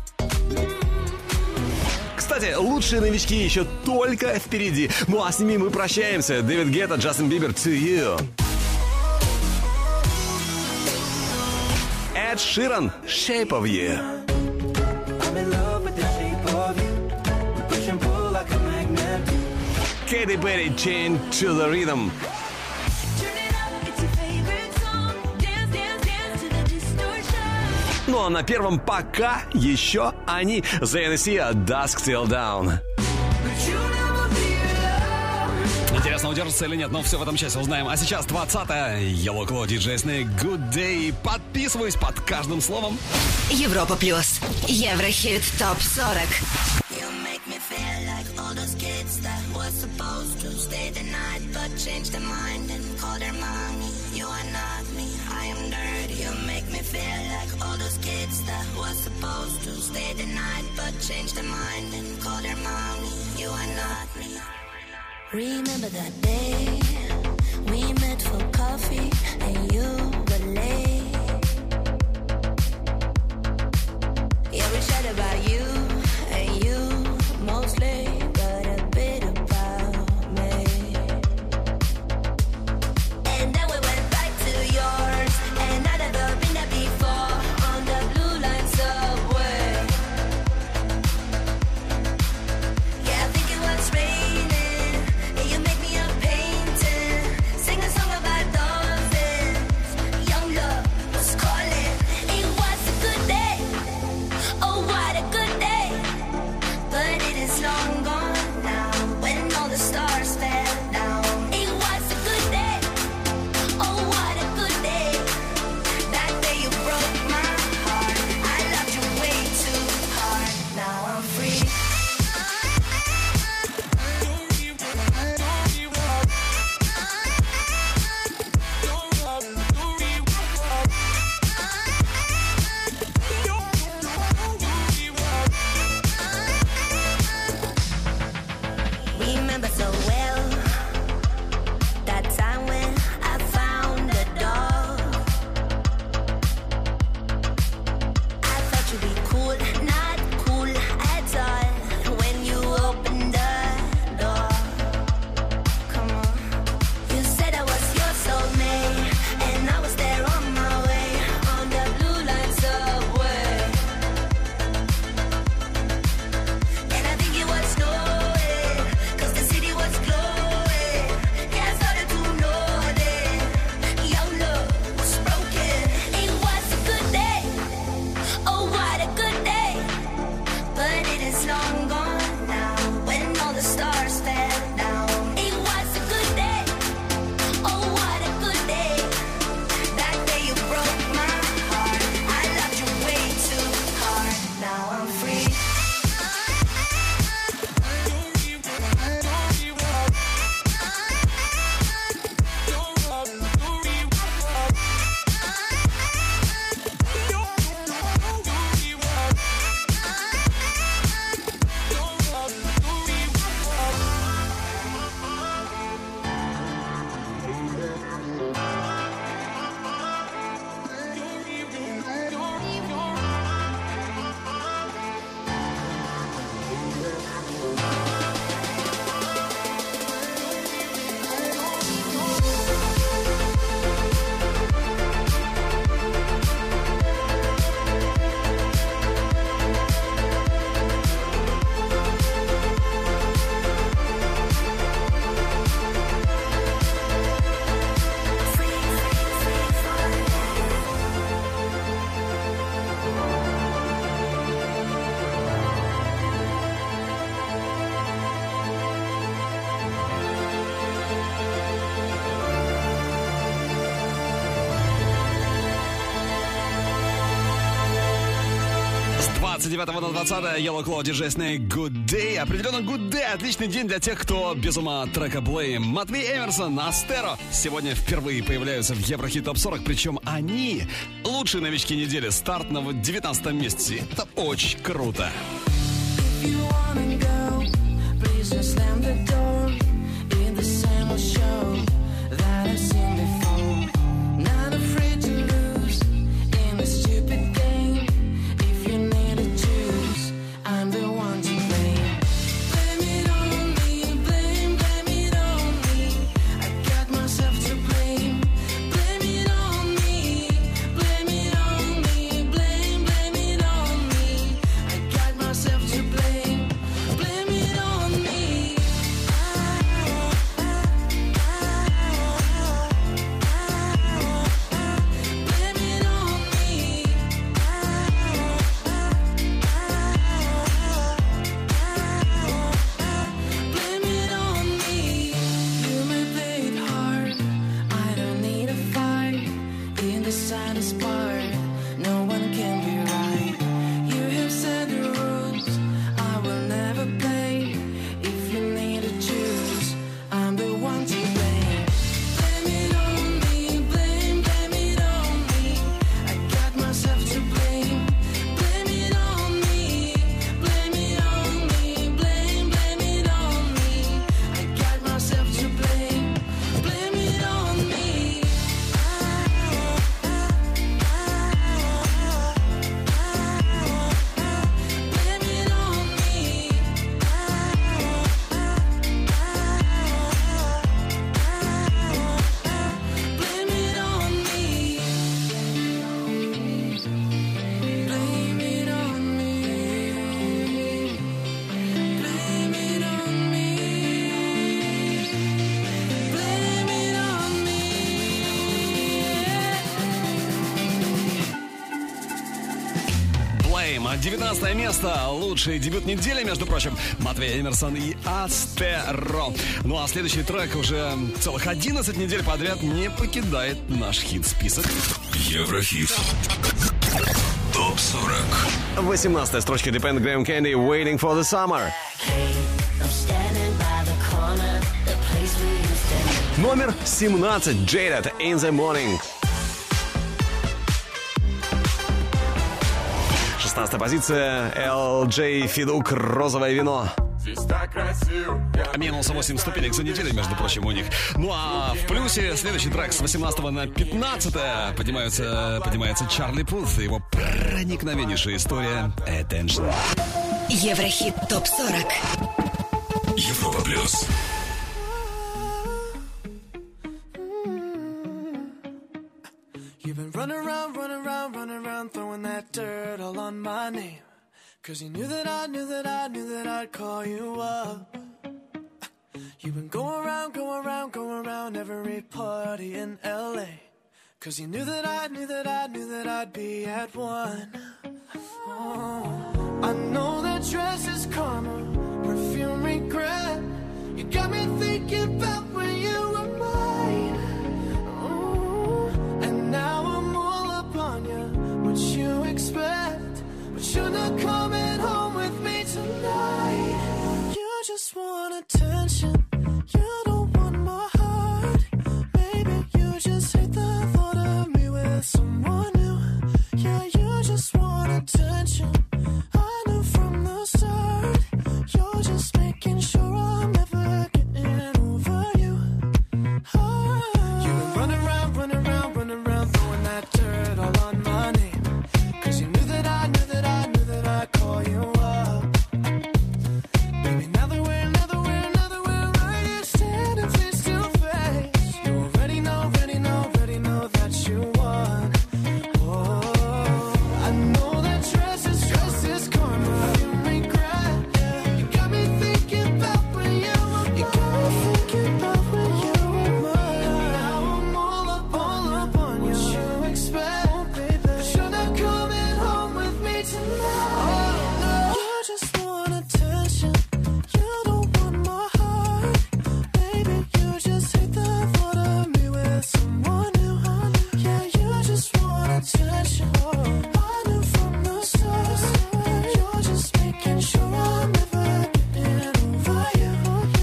B: Кстати, лучшие новички еще только впереди. Ну а с ними мы прощаемся. Дэвид Гетта, Джастин Бибер, To You. Эд Ширан, Shape of You. Кэти Перри, Chain to the Rhythm. Ну а на первом пока еще они. The эн эс си, Dusk Till Dawn. Интересно, удержится или нет, но все в этом части узнаем. А сейчас двадцатое. Yellow Claw, ди джей Snake, Good Day. Подписываюсь под каждым словом.
A: Европа плюс. Еврохит топ сорок.
E: Remember that day we met for coffee and you were late. Yeah, we chat about you and you mostly, but a bit about me. And then we went back to yours, and I'd never been there before on the blue line subway. Yeah, I think it was raining. You make me a painting, sing a song about dolphins. Young love was calling. It was a good day. Oh, what a good day. But it is long gone now. When all the stars fell down. It was a good day. Oh, what a good day. That day you broke my heart. I loved you way too hard. Now I'm free. Remember so well that time when I found the dog. I thought you'd be cool, not cool at all. When you opened the door, come on. You said I was your soulmate, and I was there on my way on the blue line subway. And I think it was snowing, 'cause the city was glowing. Yeah, I started to notice your love was broken. It was a good day. Oh, what a good day. But it is long gone now. When all the stars fell down. It was a good day. Oh, what a good day. That day you broke my heart. I loved you way too hard. Now I'm free.
B: двадцать девятого на двадцатое. Yellow Claw, ди джей Snake, Good Day. Определенно Good Day. Отличный день для тех, кто без ума от трека Blame. Матвей Эмерсон, Астеро сегодня впервые появляются в Еврохит топ сорок. Причем они лучшие новички недели. Старт на девятнадцатом месте. Это очень круто.
H: I'm the one to blame.
B: девятнадцатое место. Лучший дебют недели, между прочим. Матвей Эмерсон и Астеро. Ну а следующий трек уже целых одиннадцать недель подряд не покидает наш хит-список.
C: Еврохит. Топ сорок.
M: восемнадцатая строчка Depend Graham Candy Waiting for the Summer. Номер семнадцать Jaded In the Morning. шестнадцатая позиция эл джей Федук «Розовое вино».
B: Минус восемь ступенек за неделю, между прочим, у них. Ну а в плюсе следующий трек с восемнадцатого на пятнадцатое поднимается, поднимается Чарли Пут и его проникновеннейшая история Attention.
A: Еврохит топ сорок.
C: Европа плюс.
L: You've been running around, running around, running around, throwing that dirt all on my name. Cause you knew that I knew that I knew that I'd call you up. You've been going around, going around, going around every party in L A. Cause you knew that I knew that I knew that I'd be at one. Oh, I know that dress is karma, perfume regret. You got me thinking about when you were mine. Oh, and now I'm all up on you. What you expect? But you're not coming home with me tonight. You just want attention. You don't want my heart. Maybe you just hate the thought of me with someone new. Yeah, you just want attention. I knew from the start. You're just making sure I'm never getting over you. Oh. You've been running around, running around, running around, throwing that dirt all on my name. Cause you knew that I knew that I knew that I'd call you up. Baby, now that we're, now that we're, now that we're right here standing face to face, you already know, already know, already know that you won. Oh, I know that dress is, dress is karma, you regret. Yeah. You got me thinking about when you were mine. You got me thinking about when you were mine. Now I'm all up, all up on you. What you expect? Oh, baby, but you're not coming home with me tonight. Oh, no. You just want attention. You don't want my heart. Baby, you just hate the thought of me with someone new. Yeah, you just want attention. I knew from the start. You're just making sure I'm never getting over you.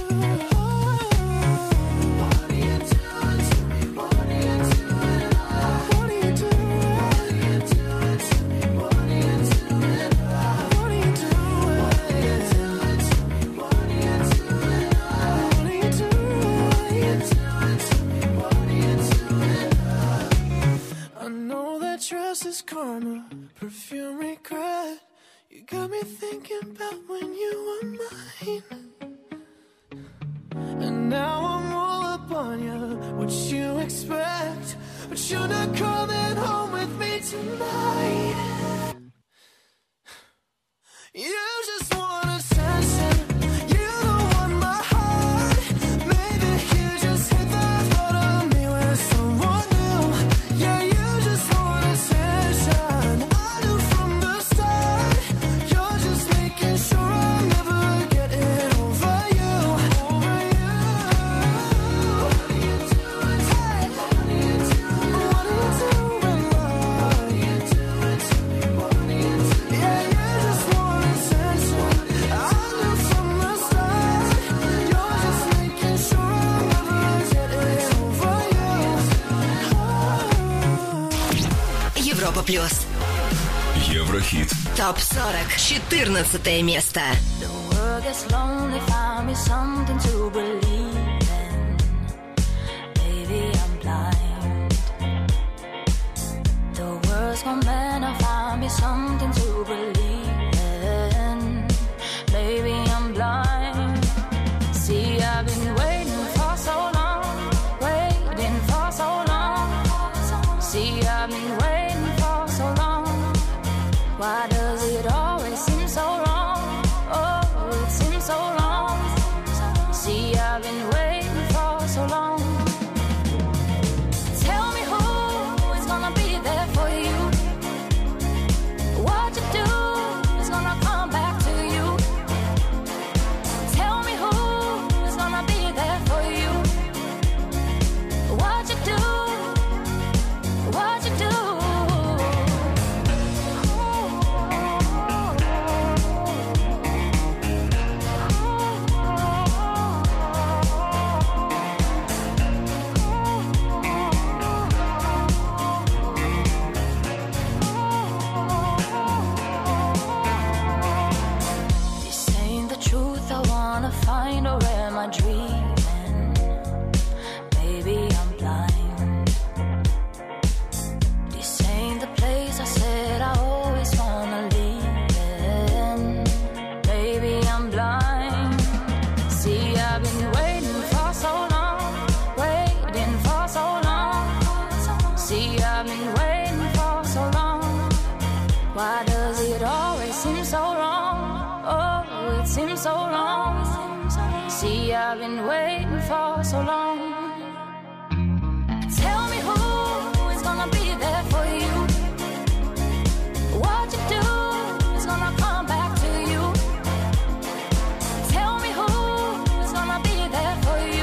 L: What are you doing to me? What are you doing? What are you doing? What are you doing to me? What are you doing? What are you doing? What are you doing to me? What are you doing? What are you doing? What are you doing to me? What are you doing? I know that dress is karma, perfume regret. You got me thinking about when you were mine. And now I'm all up on you. What you expect? But you're not coming home with me tonight. You just want attention. You don't want my heart. Maybe you just hate the thought of me with someone new. Yeah, you just want attention. I knew from the start. You're just making sure I'm never getting over you. Over you. What are you doing? Hey, what are you doing? What are you doing? What are you doing to me? What are you doing? Yeah, you just want attention. I knew from the start. You're just making sure I'm never getting over you.
A: Европа плюс.
C: Еврохит.
A: топ сорок. четырнадцатое место.
K: The world gets lonely, find me something to believe in. Baby, I'm blind. The world's gone bad, now find me something to believe in. Baby, I'm blind. See, I've been waiting for so long, waiting for so long. See, I've been waiting for so long. Why does it always seem so wrong? Oh, it seems so long. See, I've been waiting for so long. Tell me who is gonna be there for you. What you do I dreaming? Maybe I'm blind. This ain't the place I said I always wanna live in. Maybe I'm blind. See, I've been waiting for so long, waiting for so long. See, I've been waiting for so long. Why does it always seem so wrong? Oh, it seems so long. See, I've been waiting for so long. Tell me who is gonna be there for you. What you do is gonna come back to you. Tell me who is gonna be there for you.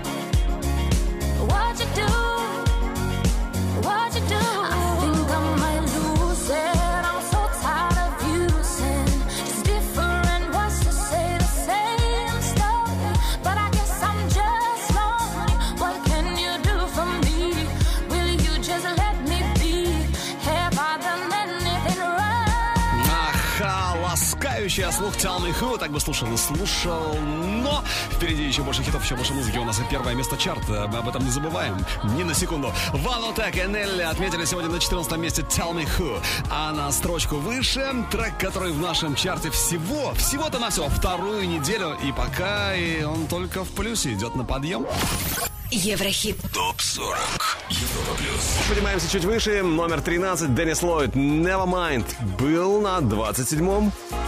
K: What you do, what you do. I think I might lose it. I'm so tired of using just different words to say the same stuff. But I guess I'm just lonely. What can you do for me? Will you just let me be? Have I done anything right?
B: Аха, ласкающая слух Tell Me Who. Так бы слушал и слушал. Но впереди еще больше хитов, еще больше музыки. У нас и первое место чарта. Мы об этом не забываем. Ни на секунду. Ванотек и Нелли отметили сегодня на четырнадцатом месте Tell Me Who. А на строчку выше трек, который в нашем чарте всего, всего-то на все вторую неделю. И пока и он только в плюсе идет на подъем.
A: Еврохит.
C: ТОП сорок. Европа плюс.
M: Поднимаемся чуть выше. Номер тринадцать. Деннис Ллойд. Nevermind. Был на двадцать седьмом.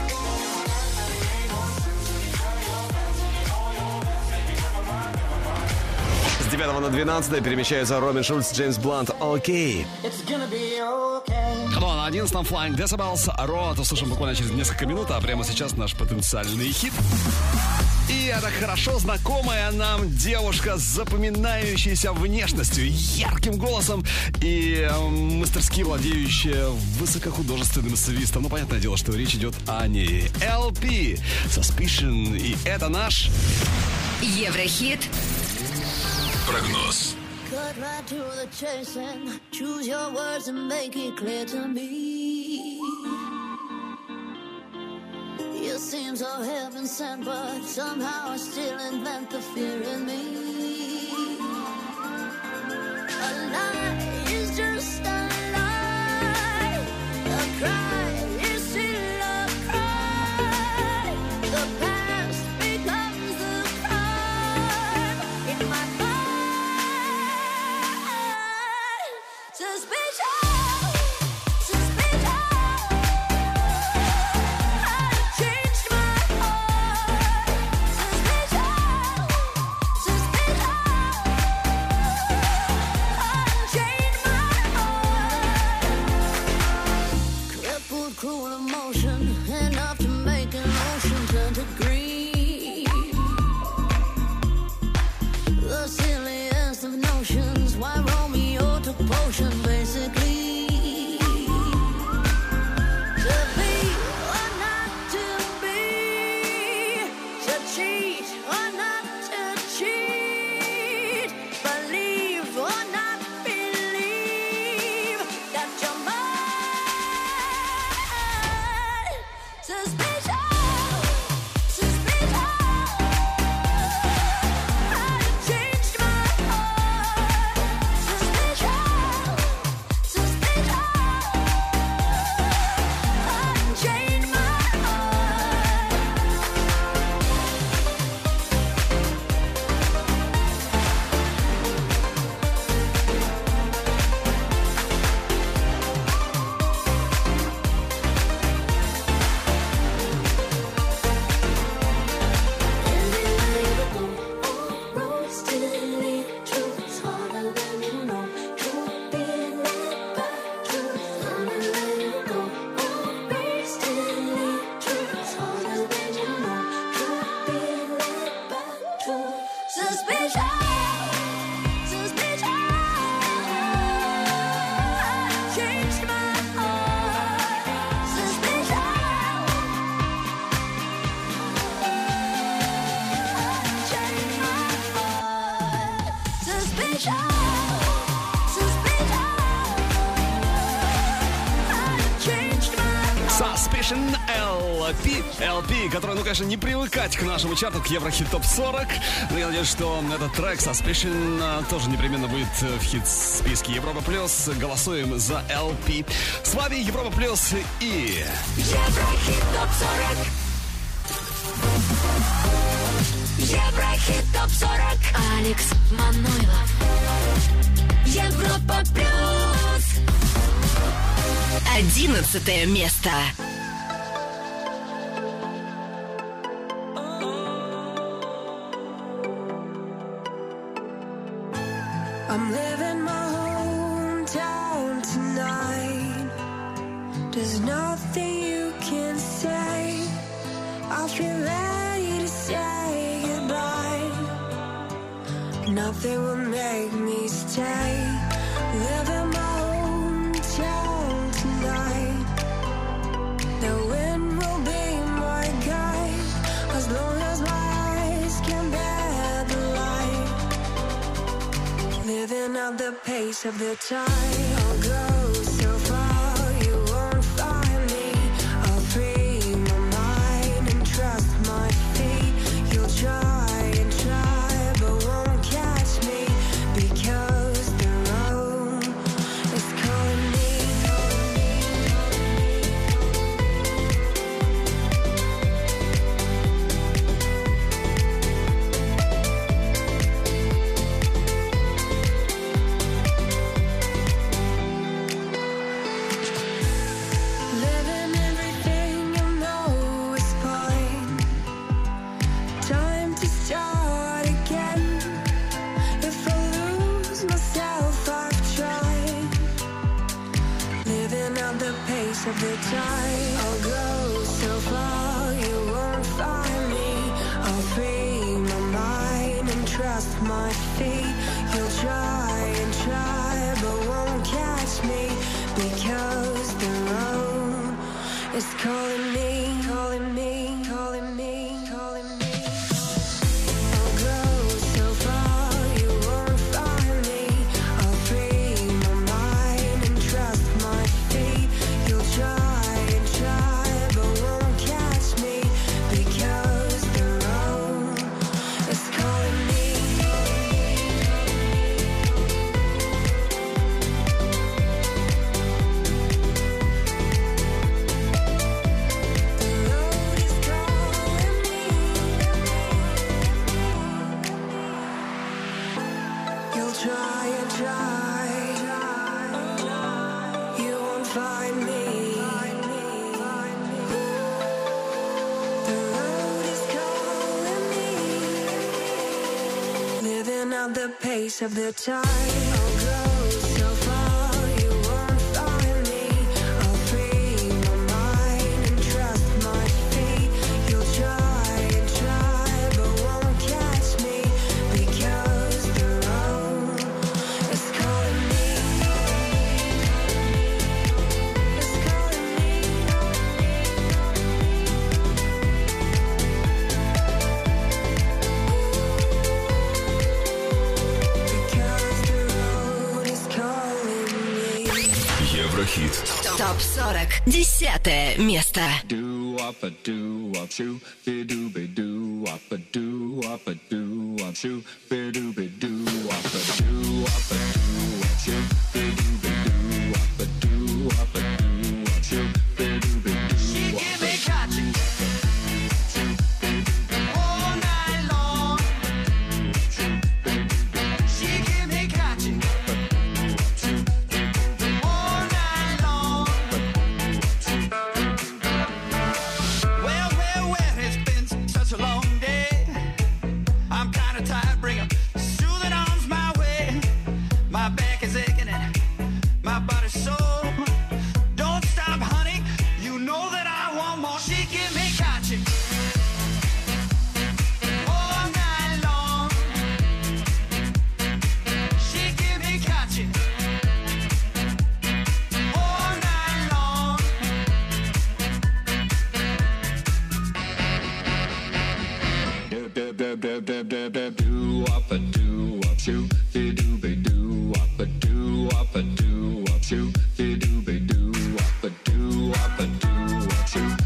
M: С девятого на двенадцатое перемещаются Робин Шульц, Джеймс Блант. Окей.
B: Ну а на одиннадцатом Flying Decibels. Роад услышим буквально через несколько минут, а прямо сейчас наш потенциальный хит. И это хорошо знакомая нам девушка с запоминающейся внешностью, ярким голосом и э, мастерски владеющая высокохудожественным свистом. Ну, понятное дело, что речь идет о ней. эл пи Suspicion. И это наш
A: Еврохит.
C: Прогноз.
E: Cut right to the chase and choose your words and make it clear to me. You seem so heaven sent, but somehow I still invent the fear in me. A lie is just a lie. A cry is still a cry. The past becomes the crime in my mind. Suspicion. Chain
B: Suspicion эл пи. эл пи, которая, ну, конечно, не привыкать к нашему чарту, к Еврохит топ сорок. Но я надеюсь, что этот трек Suspicion тоже непременно будет в хит-списке Европа Плюс. Голосуем за эл пи. С вами Европа Плюс и...
N: Еврохит топ сорок. Еврохит топ сорок.
A: Алекс Манойлов.
N: Европа Плюс.
A: Одиннадцатое место.
H: I'm living my hometown tonight. There's nothing you can say. I feel ready to say goodbye. Nothing will make me stay. Living my hometown tonight. The wind will be my guide as long as my eyes can bear the light. Living at the pace of the tide. I'll go so far, you won't find me. I'll free my mind and trust my feet. You'll try and try, but won't catch me because the road is calling me. Living everything you know is fine. Time to start again. If I lose myself, I've tried. Living at the pace of the tide. I'll go so far, you won't find me. I'll free my mind and trust my feet. You'll try and try, but won't catch me because the road is calling me, calling me, calling me, calling me. I'll go so far, you won't find me. I'll free my mind and trust my feet. You'll try and try, but won't catch me because the road is calling me. You'll try and try, you won't find me. The road is calling me. Living at the pace of the tide. I'll go so far, you won't find me. I'll free my mind and trust my feet. You'll try and try, but won't catch me because the road is calling me. It's calling me. Because the road is calling me.
C: Еврохит.
A: топ сорок. Десятое место.
O: Do up a do up shoe, be do be do up a do up a do up shoe, be do be do up a do up a do up shoe, be do be do up a do up a do up shoe, be do be do. She give me catching all night long. She give me catching all night long. Well, well, well, it's been such a long day. I'm kinda tired, bring a soothing arms my way. My back is aching and my body's sore. Don't stop, honey, you know that I want more. She give me catching all night long. She give me catching all night long. Do do do do do do do do up a do up shoe, be do be do up a do up a do up shoe, be do be do up a do up a do up shoe.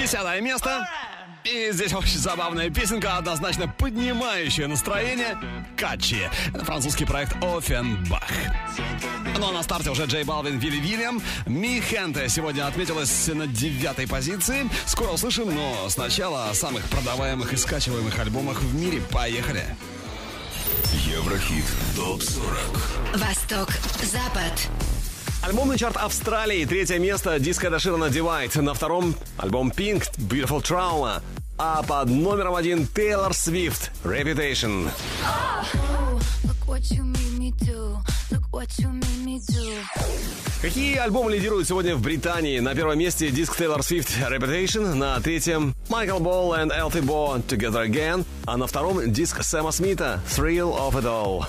B: Десятое место. И здесь очень забавная песенка, однозначно поднимающая настроение. Качи. Это французский проект Оффенбах. Ну а на старте уже Джей Балвин, Вилли Вильям. Ми Хенте сегодня отметилась на девятой позиции. Скоро услышим, но сначала о самых продаваемых и скачиваемых альбомах в мире. Поехали.
C: Еврохит топ сорок.
A: Восток, Запад.
M: Альбомный чарт Австралии. Третье место. Диско Эда Ширана Divide. На втором альбом Pink Beautiful Trauma. А под номером один Тейлор Свифт Reputation. Какие альбомы лидируют сегодня в Британии? На первом месте диск Тейлор Свифт Reputation. На третьем Michael Ball and Elfie Bo Together Again. А на втором диск Сэма Смита Thrill of It All.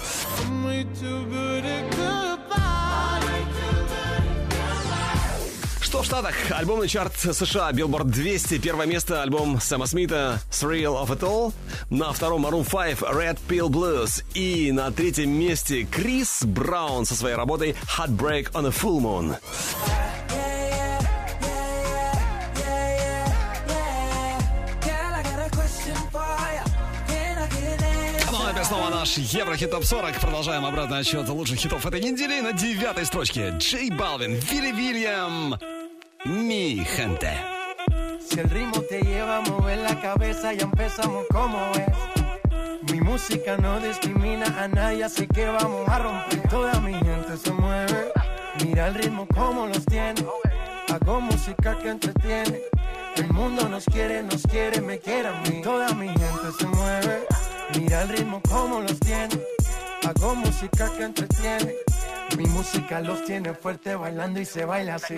M: Что в Штатах? Альбомный чарт США Billboard двести. Первое место альбом Сэма Смита Thrill of It All. На втором Maroon пять Red Pill Blues. И на третьем месте Крис Браун со своей работой Heartbreak on a Full Moon. Снова наш Еврохит топ сорок. Продолжаем обратный отсчет лучших хитов этой недели. На девятой строчке Джей Балвин, Вилли Вильям, Mi Gente.
P: Si el ritmo te lleva a mover la cabeza, ya empezamos como es. Mi música no discrimina a nadie, así que vamos a romper. Toda mi gente se mueve. Mira el ritmo como los tiene. Hago música que entretiene. El mundo nos quiere, nos quiere, me quiere a mí. Toda mi gente se mueve. Mira el ritmo como los tiene. Hago música que entretiene. Mi música los tiene fuerte bailando y se baila así.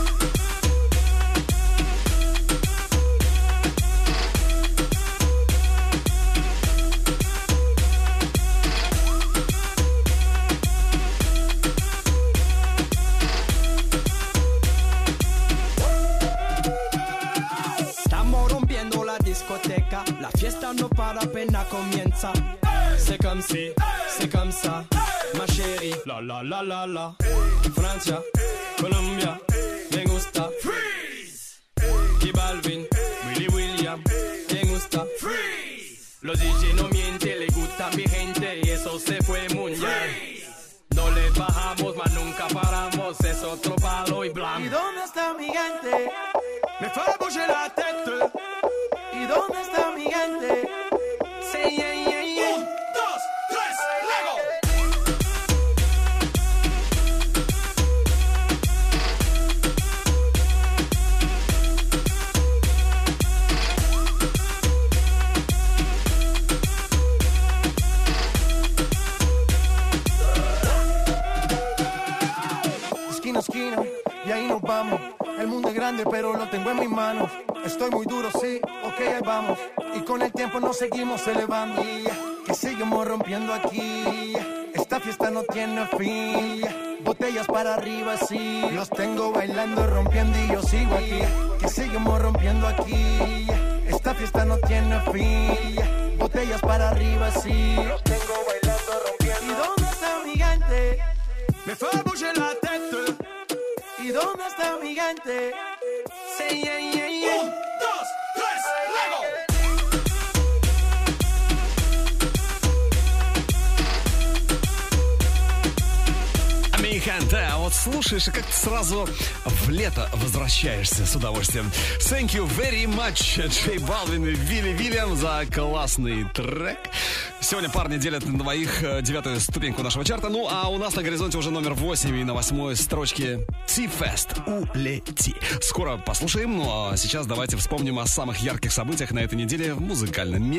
Q: Estamos rompiendo la discoteca. La fiesta no para, apenas comienza. C'est comme si, c'est comme ça, ma chérie. La la la la la. Francia, Colombia, me gusta. Freeze. Y Balvin, Willy William, me gusta. Freeze. Los D J no mienten, le gusta mi gente y eso se fue mundial. No le bajamos, mas nunca paramos, es otro palo y blanco.
P: ¿Y dónde está mi gente? Me fue a bouger la tête. ¿Y dónde está mi gente? Say yeah, yeah, yeah. Un, dos, tres, Lego. Esquina a esquina, y ahí nos vamos. El mundo es grande, pero lo tengo en mis manos. Estoy muy duro, sí, ok, ahí vamos. Y con el tiempo nos seguimos elevando. Que seguimos rompiendo aquí. Esta fiesta no tiene fin. Botellas para arriba, sí. Los tengo bailando, rompiendo y yo sigo aquí. Que seguimos rompiendo aquí. Esta fiesta no tiene fin. Botellas para arriba, sí. Los tengo bailando, rompiendo. ¿Y dónde está mi gente? Me fue a bouger la tête. ¿Y dónde está mi gente? Say yeah, yeah, yeah. Un, dos, tres, Lego.
B: Mi Gente. А вот слушаешь, и как-то сразу в лето возвращаешься с удовольствием. Thank you very much, Джей Балвин и Вилли Вильям, за классный трек. Сегодня парни делят на двоих девятую ступеньку нашего чарта. Ну, а у нас на горизонте уже номер восемь. И на восьмой строчке Ти-Фест «Улети». Скоро послушаем. Ну, а сейчас давайте вспомним о самых ярких событиях на этой неделе в музыкальном мире.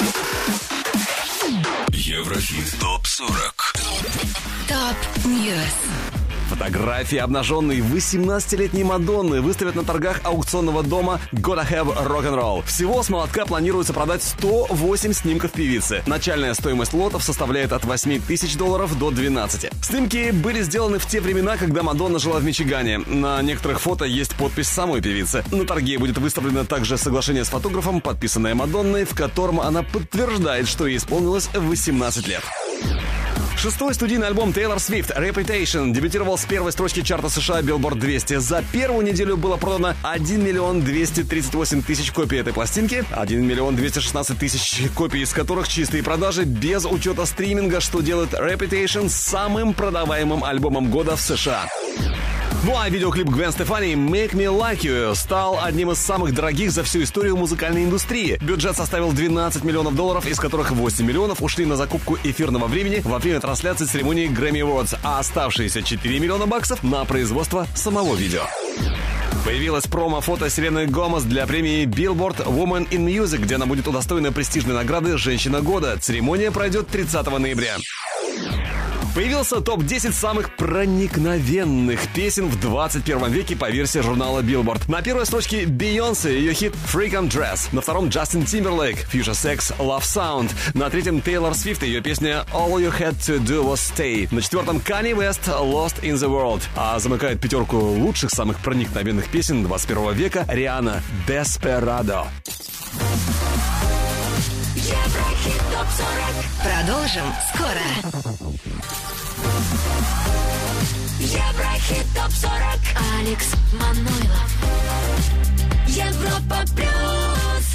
C: Еврохит топ сорок.
A: Топ Ньюс.
M: Фотографии обнаженной восемнадцатилетней Мадонны выставят на торгах аукционного дома Gotta Have Rock'n'Roll. Всего с молотка планируется продать сто восемь снимков певицы. Начальная стоимость лотов составляет от восемь тысяч долларов до двенадцати. Снимки были сделаны в те времена, когда Мадонна жила в Мичигане. На некоторых фото есть подпись самой певицы. На торге будет выставлено также соглашение с фотографом, подписанное Мадонной, в котором она подтверждает, что ей исполнилось восемнадцать лет. Шестой студийный альбом Taylor Swift Reputation дебютировал с первой строчки чарта США Billboard двести. За первую неделю было продано один миллион двести тридцать восемь тысяч копий этой пластинки, один миллион двести шестнадцать тысяч копий из которых чистые продажи без учета стриминга, что делает Reputation самым продаваемым альбомом года в США. Ну а видеоклип Гвен Стефани «Make Me Like You» стал одним из самых дорогих за всю историю музыкальной индустрии. Бюджет составил двенадцать миллионов долларов, из которых восемь миллионов ушли на закупку эфирного времени во время трансляции церемонии Grammy Awards, а оставшиеся четыре миллиона баксов на производство самого видео. Появилось промо-фото Селены Гомес для премии Billboard Woman in Music, где она будет удостоена престижной награды «Женщина года». Церемония пройдет тридцатого ноября. Появился топ десять самых проникновенных песен в двадцать первом веке по версии журнала Billboard. На первой строчке Бейонсе, ее хит Freak on Dress. На втором Джастин Тимберлейк, Future Sex, Love Sound. На третьем Тейлор Свифт, ее песня All You Had to Do Was Stay. На четвертом Kanye West, Lost in the World. А замыкает пятерку лучших самых проникновенных песен двадцать первого века Риhanna, Desperado.
A: Еврохит топ сорок. Продолжим скоро. Еврохит топ сорок. Алекс Манойлов. Европа плюс.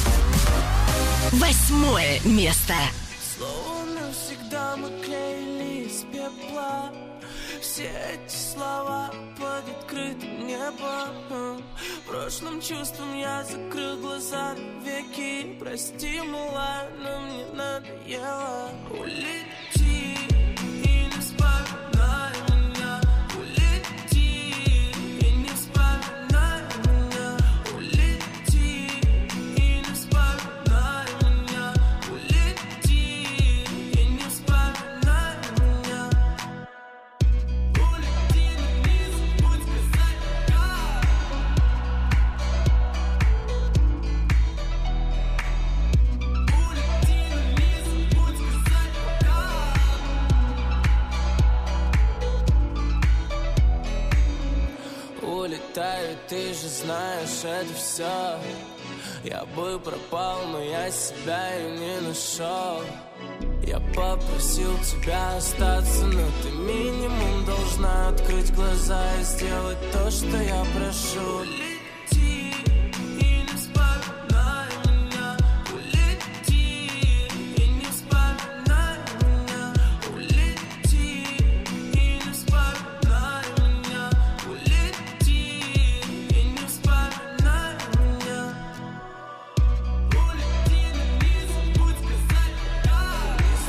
A: Восьмое место.
L: Словно всегда мы клеили из пепла все эти слова под открытым небом. Прошлым чувством я закрыл глаза веки. Прости, милая, но мне надоело. Улети и не вспоминай меня. Улети и не вспоминай меня. Улети и не вспоминай меня. Улети и не вспоминай меня. Улети, не забудь сказать пока. Улетаю, ты же знаешь, это все. Я бы пропал, но я себя и не нашел. Я попросил тебя остаться, но ты минимум должна открыть глаза и сделать то, что я прошу. Улети и не вспоминай меня. Улети и не вспоминай меня. Улети и не вспоминай меня. Улети и не вспоминай меня. Улети, но не забудь сказать пока.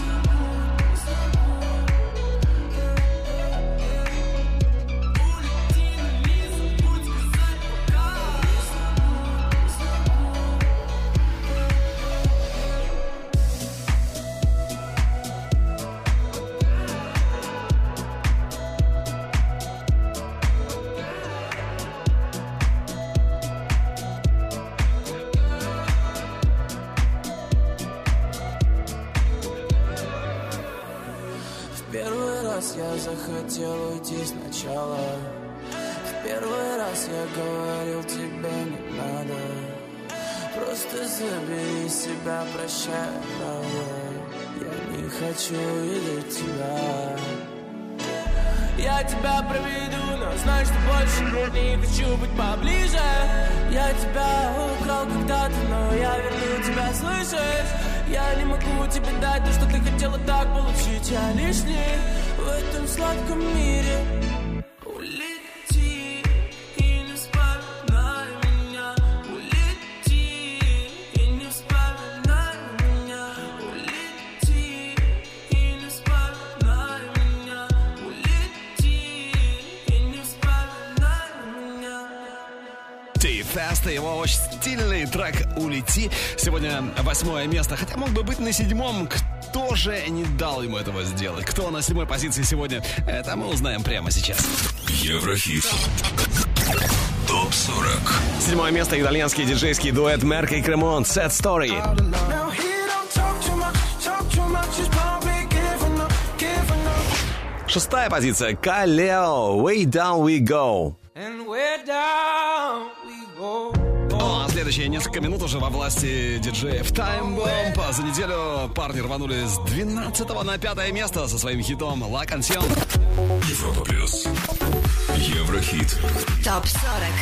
L: В первый раз я захотел уйти сначала. В первый раз я говорил, тебе не надо. Просто забери себя, прощай, правда. Я не хочу видеть тебя. Я тебя проведу, но знай, что больше не хочу быть поближе. Я тебя украл когда-то, но я верну тебя, слышишь? Я не могу тебе дать то, что ты хотела так получить. Я лишний в этом сладком мире. Улети и не вспоминай меня. Улети и не вспоминай меня. Улети и не вспоминай меня. Улети и не вспоминай меня.
B: Ти-Фест, его очень стильный трек «Улети». Сегодня восьмое место, хотя мог бы быть на седьмом. Кто же не дал ему этого сделать? Кто на седьмой позиции сегодня? Это мы узнаем прямо сейчас.
C: Еврохит. топ сорок.
M: Седьмое место. Итальянский диджейский дуэт Мерка и Кремон «Sad Story». Шестая позиция. Калео «Way Down We Go».
L: And where down we go.
B: О, а следующая Следующие несколько минут уже во власти диджеев Time Bomb. За неделю парни рванули с двенадцатого на пятое место со своим хитом «La Canción».
C: Европа плюс. Еврохит.
A: Топ сорок.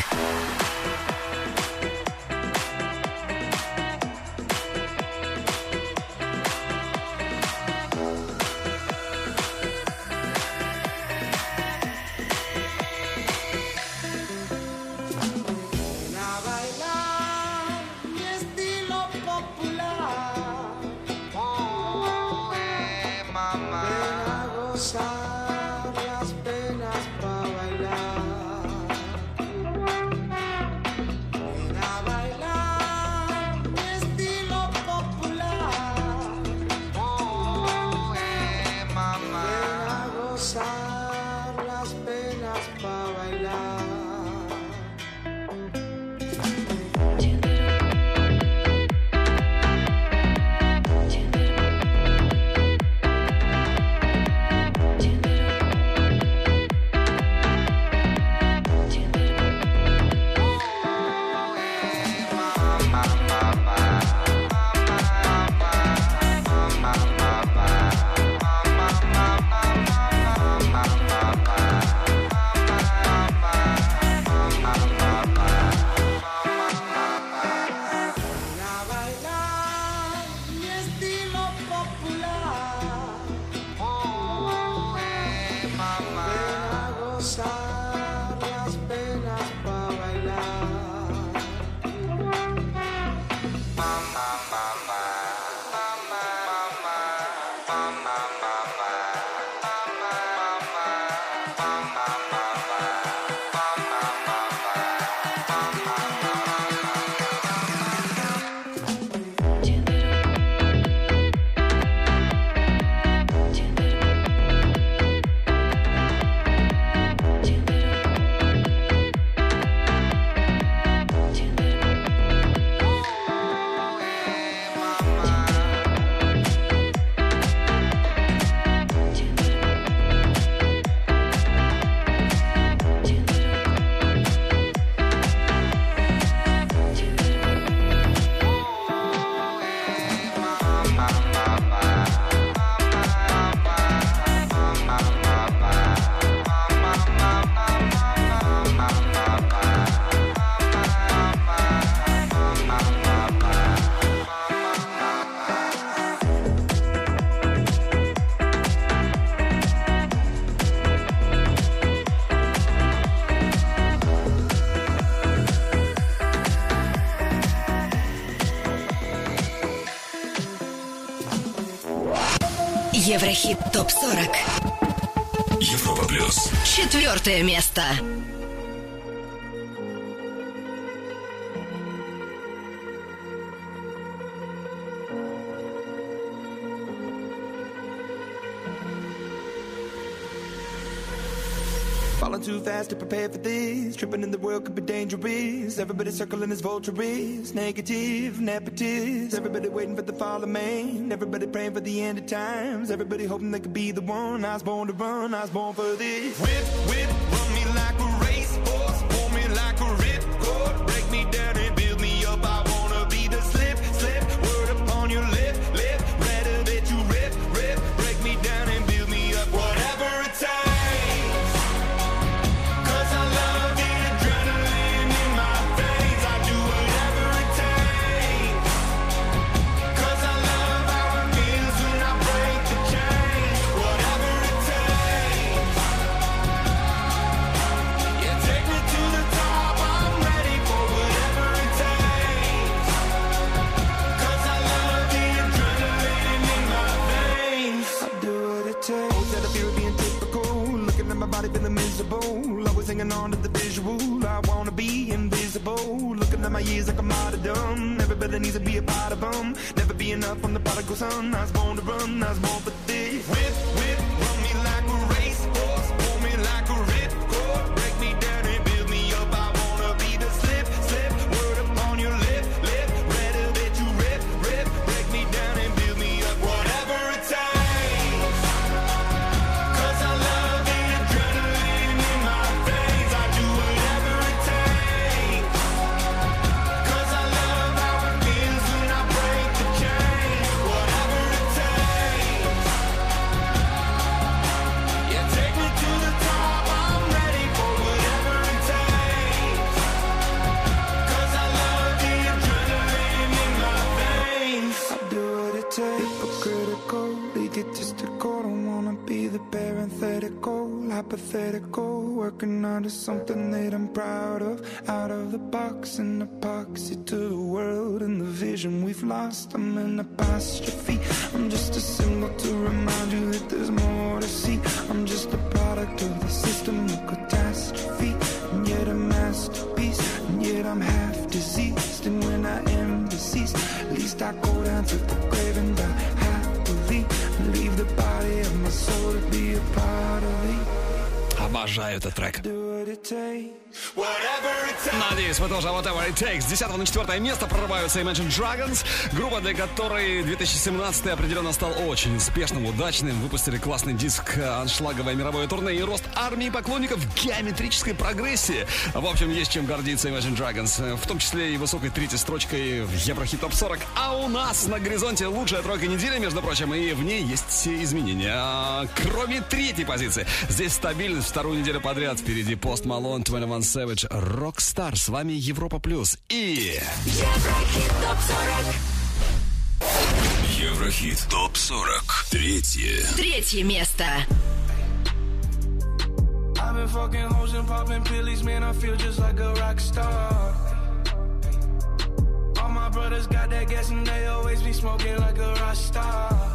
A: Еврохит топ сорок.
C: Европа плюс.
A: Четвертое место.
L: Falling too fast to prepare for this. Tripping in the world could be dangerous. Everybody circling as vultures. Negative, nepotist. Everybody waiting for the fall of man. Everybody praying for the end of times. Everybody hoping they could be the one. I was born to run, I was born for this. Whip, whip, run me like a racehorse. Pull me like a ripcord. Break me down and build me up. I wanna be the slip, slip. Word upon your lip, lip. Rather that you rip, rip. Break me down and build me up. Whatever it takes. Feeling miserable, always hanging on to the visual. I wanna be invisible. Looking at my years like I'm martyrdom. Everybody needs to be a part of them. Never be enough from the prodigal son. I was born to run, I was born for this. Whip, whip, run me like a racehorse. Pull me like a ripcord. Break me down and build me up. I wanna be the slip, slip. Word upon your lip, lip. Rather that you rip, rip. Break me down and build me up. Whatever it takes. Cause I love
R: out of something that I'm proud of. Out of the box and epoxy to the world and the vision we've lost. I'm in apostrophe. I'm just a symbol to remind you that there's more to see. I'm just a product of the system of catastrophe, and yet a masterpiece, and yet I'm half diseased. And when I am deceased, at least I go down to the grave and die happily, and leave the body of my soul to be a part of it.
B: Обожаю этот трек. Надеюсь, вы тоже. Whatever it takes. С десятого на четвертое место прорываются Imagine Dragons. Группа, для которой две тысячи семнадцатый определенно стал очень успешным, удачным. Выпустили классный диск, аншлаговое мировое турне и рост армии поклонников в геометрической прогрессии. В общем, есть чем гордиться Imagine Dragons. В том числе и высокой третьей строчкой в Еврохит Топ сорок. А у нас на горизонте лучшая тройка недели, между прочим, и в ней есть все изменения. Кроме третьей позиции. Здесь стабильность вторую неделю подряд. Впереди Post Malone, двадцать один Savage, Rockstar. С вами Европа Плюс и...
N: Еврохит Топ сорок.
C: Еврохит Топ сорок. Третье.
A: Третье место.
J: I've been fucking hoes and popping pillies, man, I feel just like a rock star. All my brothers got that gas and they always be smoking like a rock star.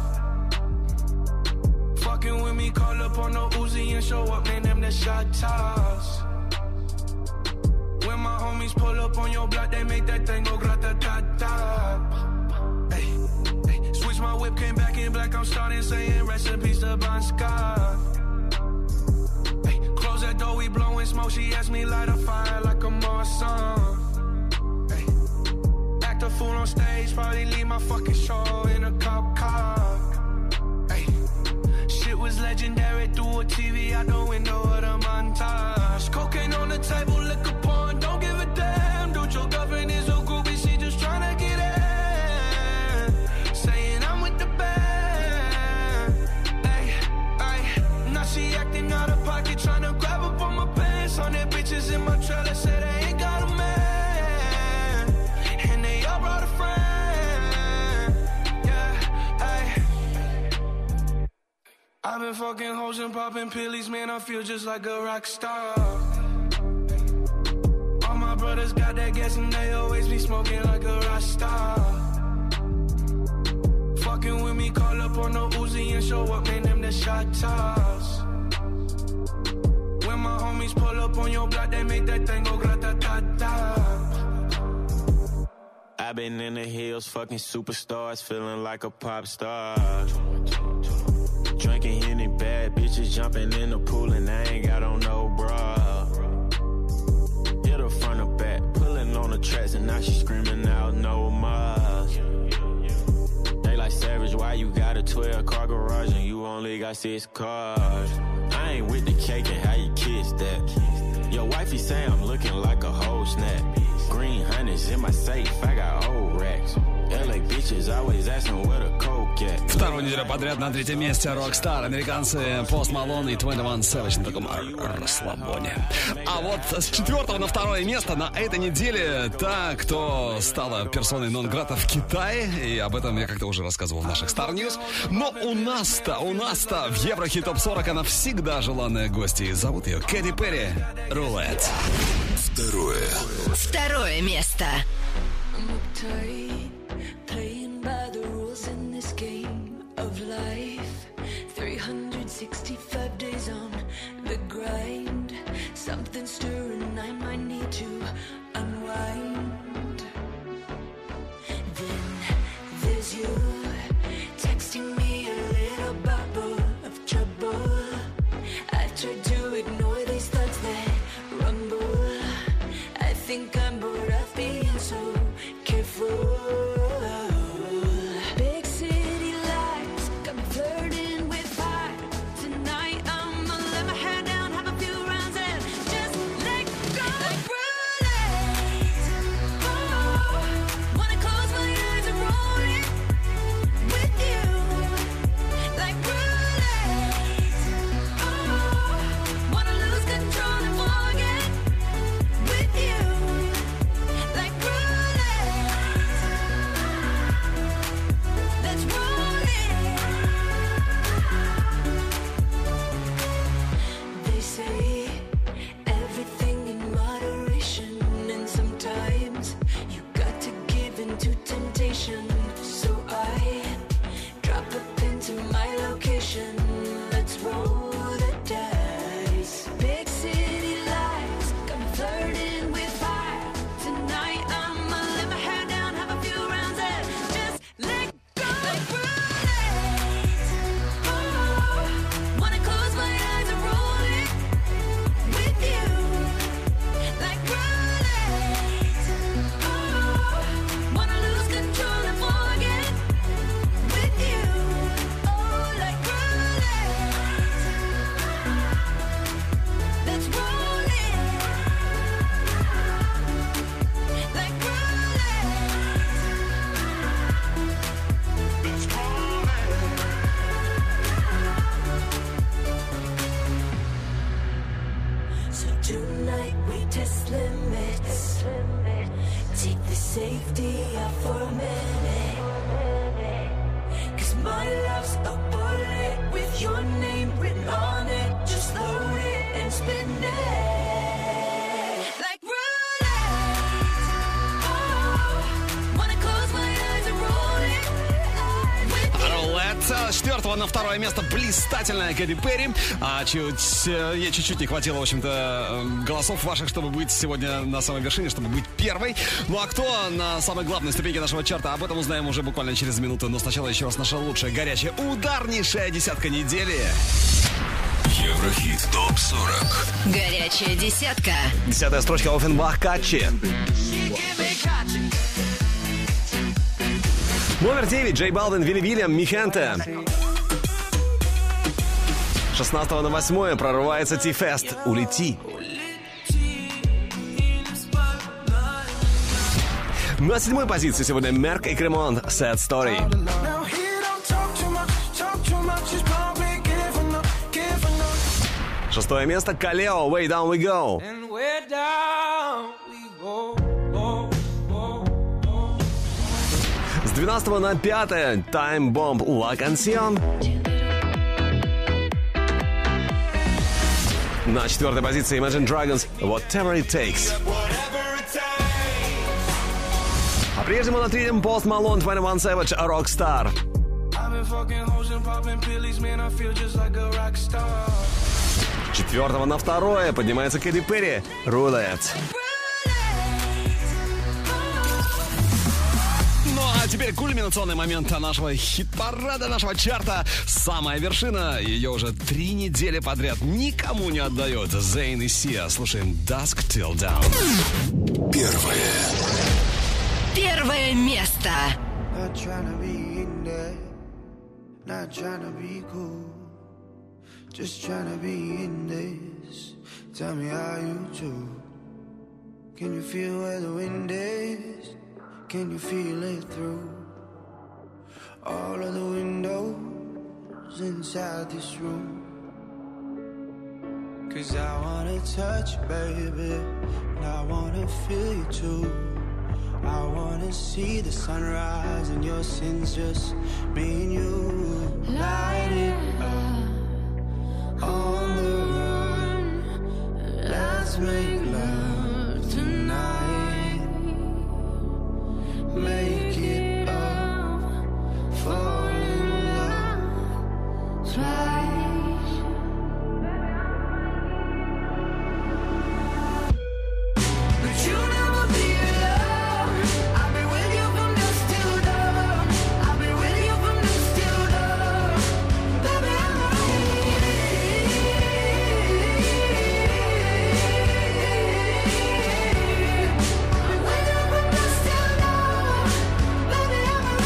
J: Fucking with me, call up on the Uzi and show up, man, them the shot toss. When my homies pull up on your block, they make that thing go grata-ta-ta. Ay, ay. Switch my whip, came back in black, I'm starting saying recipes to Bon Scott. Ay, close that door, we blowing smoke, she asked me light a fire like a Marsan. Ay, act a fool on stage, probably leave my fucking show in a cop car. Shit was legendary through a T V out the window of the montage. Cocaine on the table, liquor porn, don't give a damn. Dude, your girlfriend is a groupie, she just tryna get in. Saying I'm with the band. Ay, ay. Now she acting out of pocket, tryna grab up on my pants. On their bitches in my trailer, say they ain't got a man. And they all brought a friend. I've been fucking hoes and popping pillies, man, I feel just like a rock star. All my brothers got that gas and they always be smoking like a rock star. Fucking with me, call up on the Uzi and show up, man, them the shot toss. When my homies pull up on your block, they make that thing go grata-ta-ta.
S: I've been in the hills, fucking superstars, feeling like a pop star. Drinking any bad bitches, jumping in the pool and I ain't got on no bra. Hit her front or back, pulling on the tracks and now she screaming out no more. They like Savage, why you got a twelve car garage and you only got six cars? I ain't with the cake and how you kiss that. Your wifey say I'm looking like a whole snap. Green honey's in my safe, I got old racks. L A bitches always asking where the coke at.
B: Вторую неделю подряд на третьем месте Rockstar. Американцы Post Malone и двадцать один Savage на таком расслабоне. А вот с четвертого на второе место на этой неделе та, кто стала персоной нон-грата в Китае. И об этом я как-то уже рассказывал в наших Star News. Но у нас-то, у нас-то в Еврохит Топ сорок она всегда желанная гостья. И зовут ее Кэти Перри. Рулет.
C: Второе.
A: Второе место.
E: Playing by the rules in this game of life. three hundred sixty-five days on the grind. Something stirring, I might need to unwind. Then there's you texting me a little bubble of trouble. I tried to ignore these thoughts that rumble. I think I'm bored of being so careful.
N: Tonight I'ma let my hair down, have a few rounds and just let go. safety up for a minute. Cause my love's a bullet with your name written on it. Just load it and spin it like roulette. Oh, wanna close my eyes and roll it.
B: Рулет. С четвертого на второе место блистательная Кэти Перри. А чуть, ей чуть-чуть не хватило, в общем-то, голосов ваших, чтобы быть сегодня на самой вершине, чтобы быть первой. Ну а кто на самой главной ступеньке нашего чарта, об этом узнаем уже буквально через минуту. Но сначала еще раз наша лучшая, горячая, ударнейшая десятка недели.
C: Еврохит топ сорок.
A: Горячая десятка.
M: Десятая строчка Оффенбах Катчи. Номер девять. Джей Балвин, Вилли Вильям, Михенте. С шестнадцатого на восьмое прорывается Ти-Фест. Улети. На седьмой позиции сегодня Мерк и Кремон. Sad Story. Шестое место Калео. Way Down We Go. С двенадцатого на пятое Time Bomb La Canción. На четвертой позиции Imagine Dragons Whatever It Takes. По-прежнему на третьем Post Malone, двадцать один Savage Rockstar. С четвертого на второе поднимается Кэти Перри Roulette.
B: Ну а теперь кульминационный момент нашего хит-парада, нашего чарта. Самая вершина, ее уже три недели подряд никому не отдает. Зейн и Сиа. Слушаем Dusk Till Dawn.
C: Первое.
A: Первое место.
R: Not tryna be in there, not tryna be cool, just tryna be in this. Tell me how you do. Can you feel where the wind is? Can you feel it through all of the windows inside this room? Cause I wanna touch you, baby, and I wanna feel you too. I wanna see the sunrise and your sins, just me and you. Light it up on the run. Let's make love tonight. Make it up, fall in love twice. But you never be alone. I'll be with you from dusk till dawn. I'll be with you from dusk till dawn. Baby, I'm ready. I'm with you from dusk till dawn. Baby,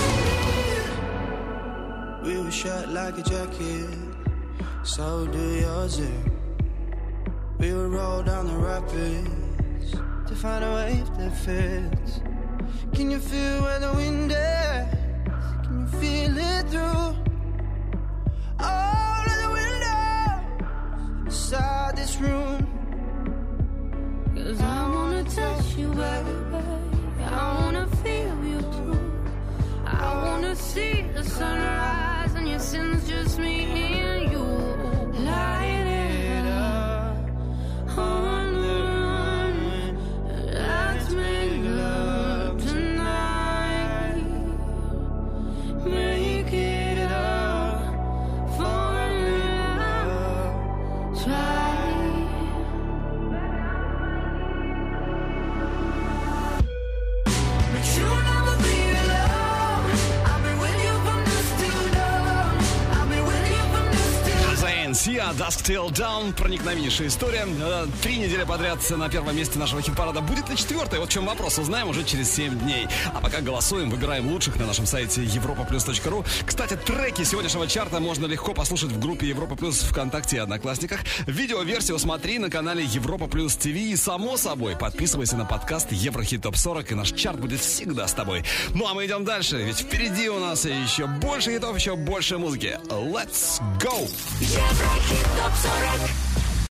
R: I'm ready. We were shut like a jacket, so do yours. eh? We would roll down the rapids to find a wave that fits. Can you feel where the wind is? Can you feel it through all of the windows inside this room? Cause I wanna touch you, baby. I wanna feel you too. I wanna see the sunrise and your sins, just me and you. Light it up on the run. Let's make love tonight. Make it up, fall in love, try. But you never be alone. I'll be with you from dusk till dawn. I'll be with you from dusk till
B: Зейн, Сиа, Dusk Till Dawn. Проникновеннейшая история. Э, Три недели подряд на первом месте нашего хит-парада. Будет ли четвертая? Вот в чем вопрос. Узнаем уже через семь дней. А пока голосуем, выбираем лучших на нашем сайте европа плюс точка ру. Кстати, треки сегодняшнего чарта можно легко послушать в группе Европа Плюс ВКонтакте и Одноклассниках. Видеоверсию смотри на канале Европа Плюс ТВ. И, само собой, подписывайся на подкаст Еврохит Топ сорок, и наш чарт будет всегда с тобой. Ну а мы идем дальше, ведь впереди у нас еще больше хитов, еще больше музыки. Let's go!
N: Еврохит топ сорок.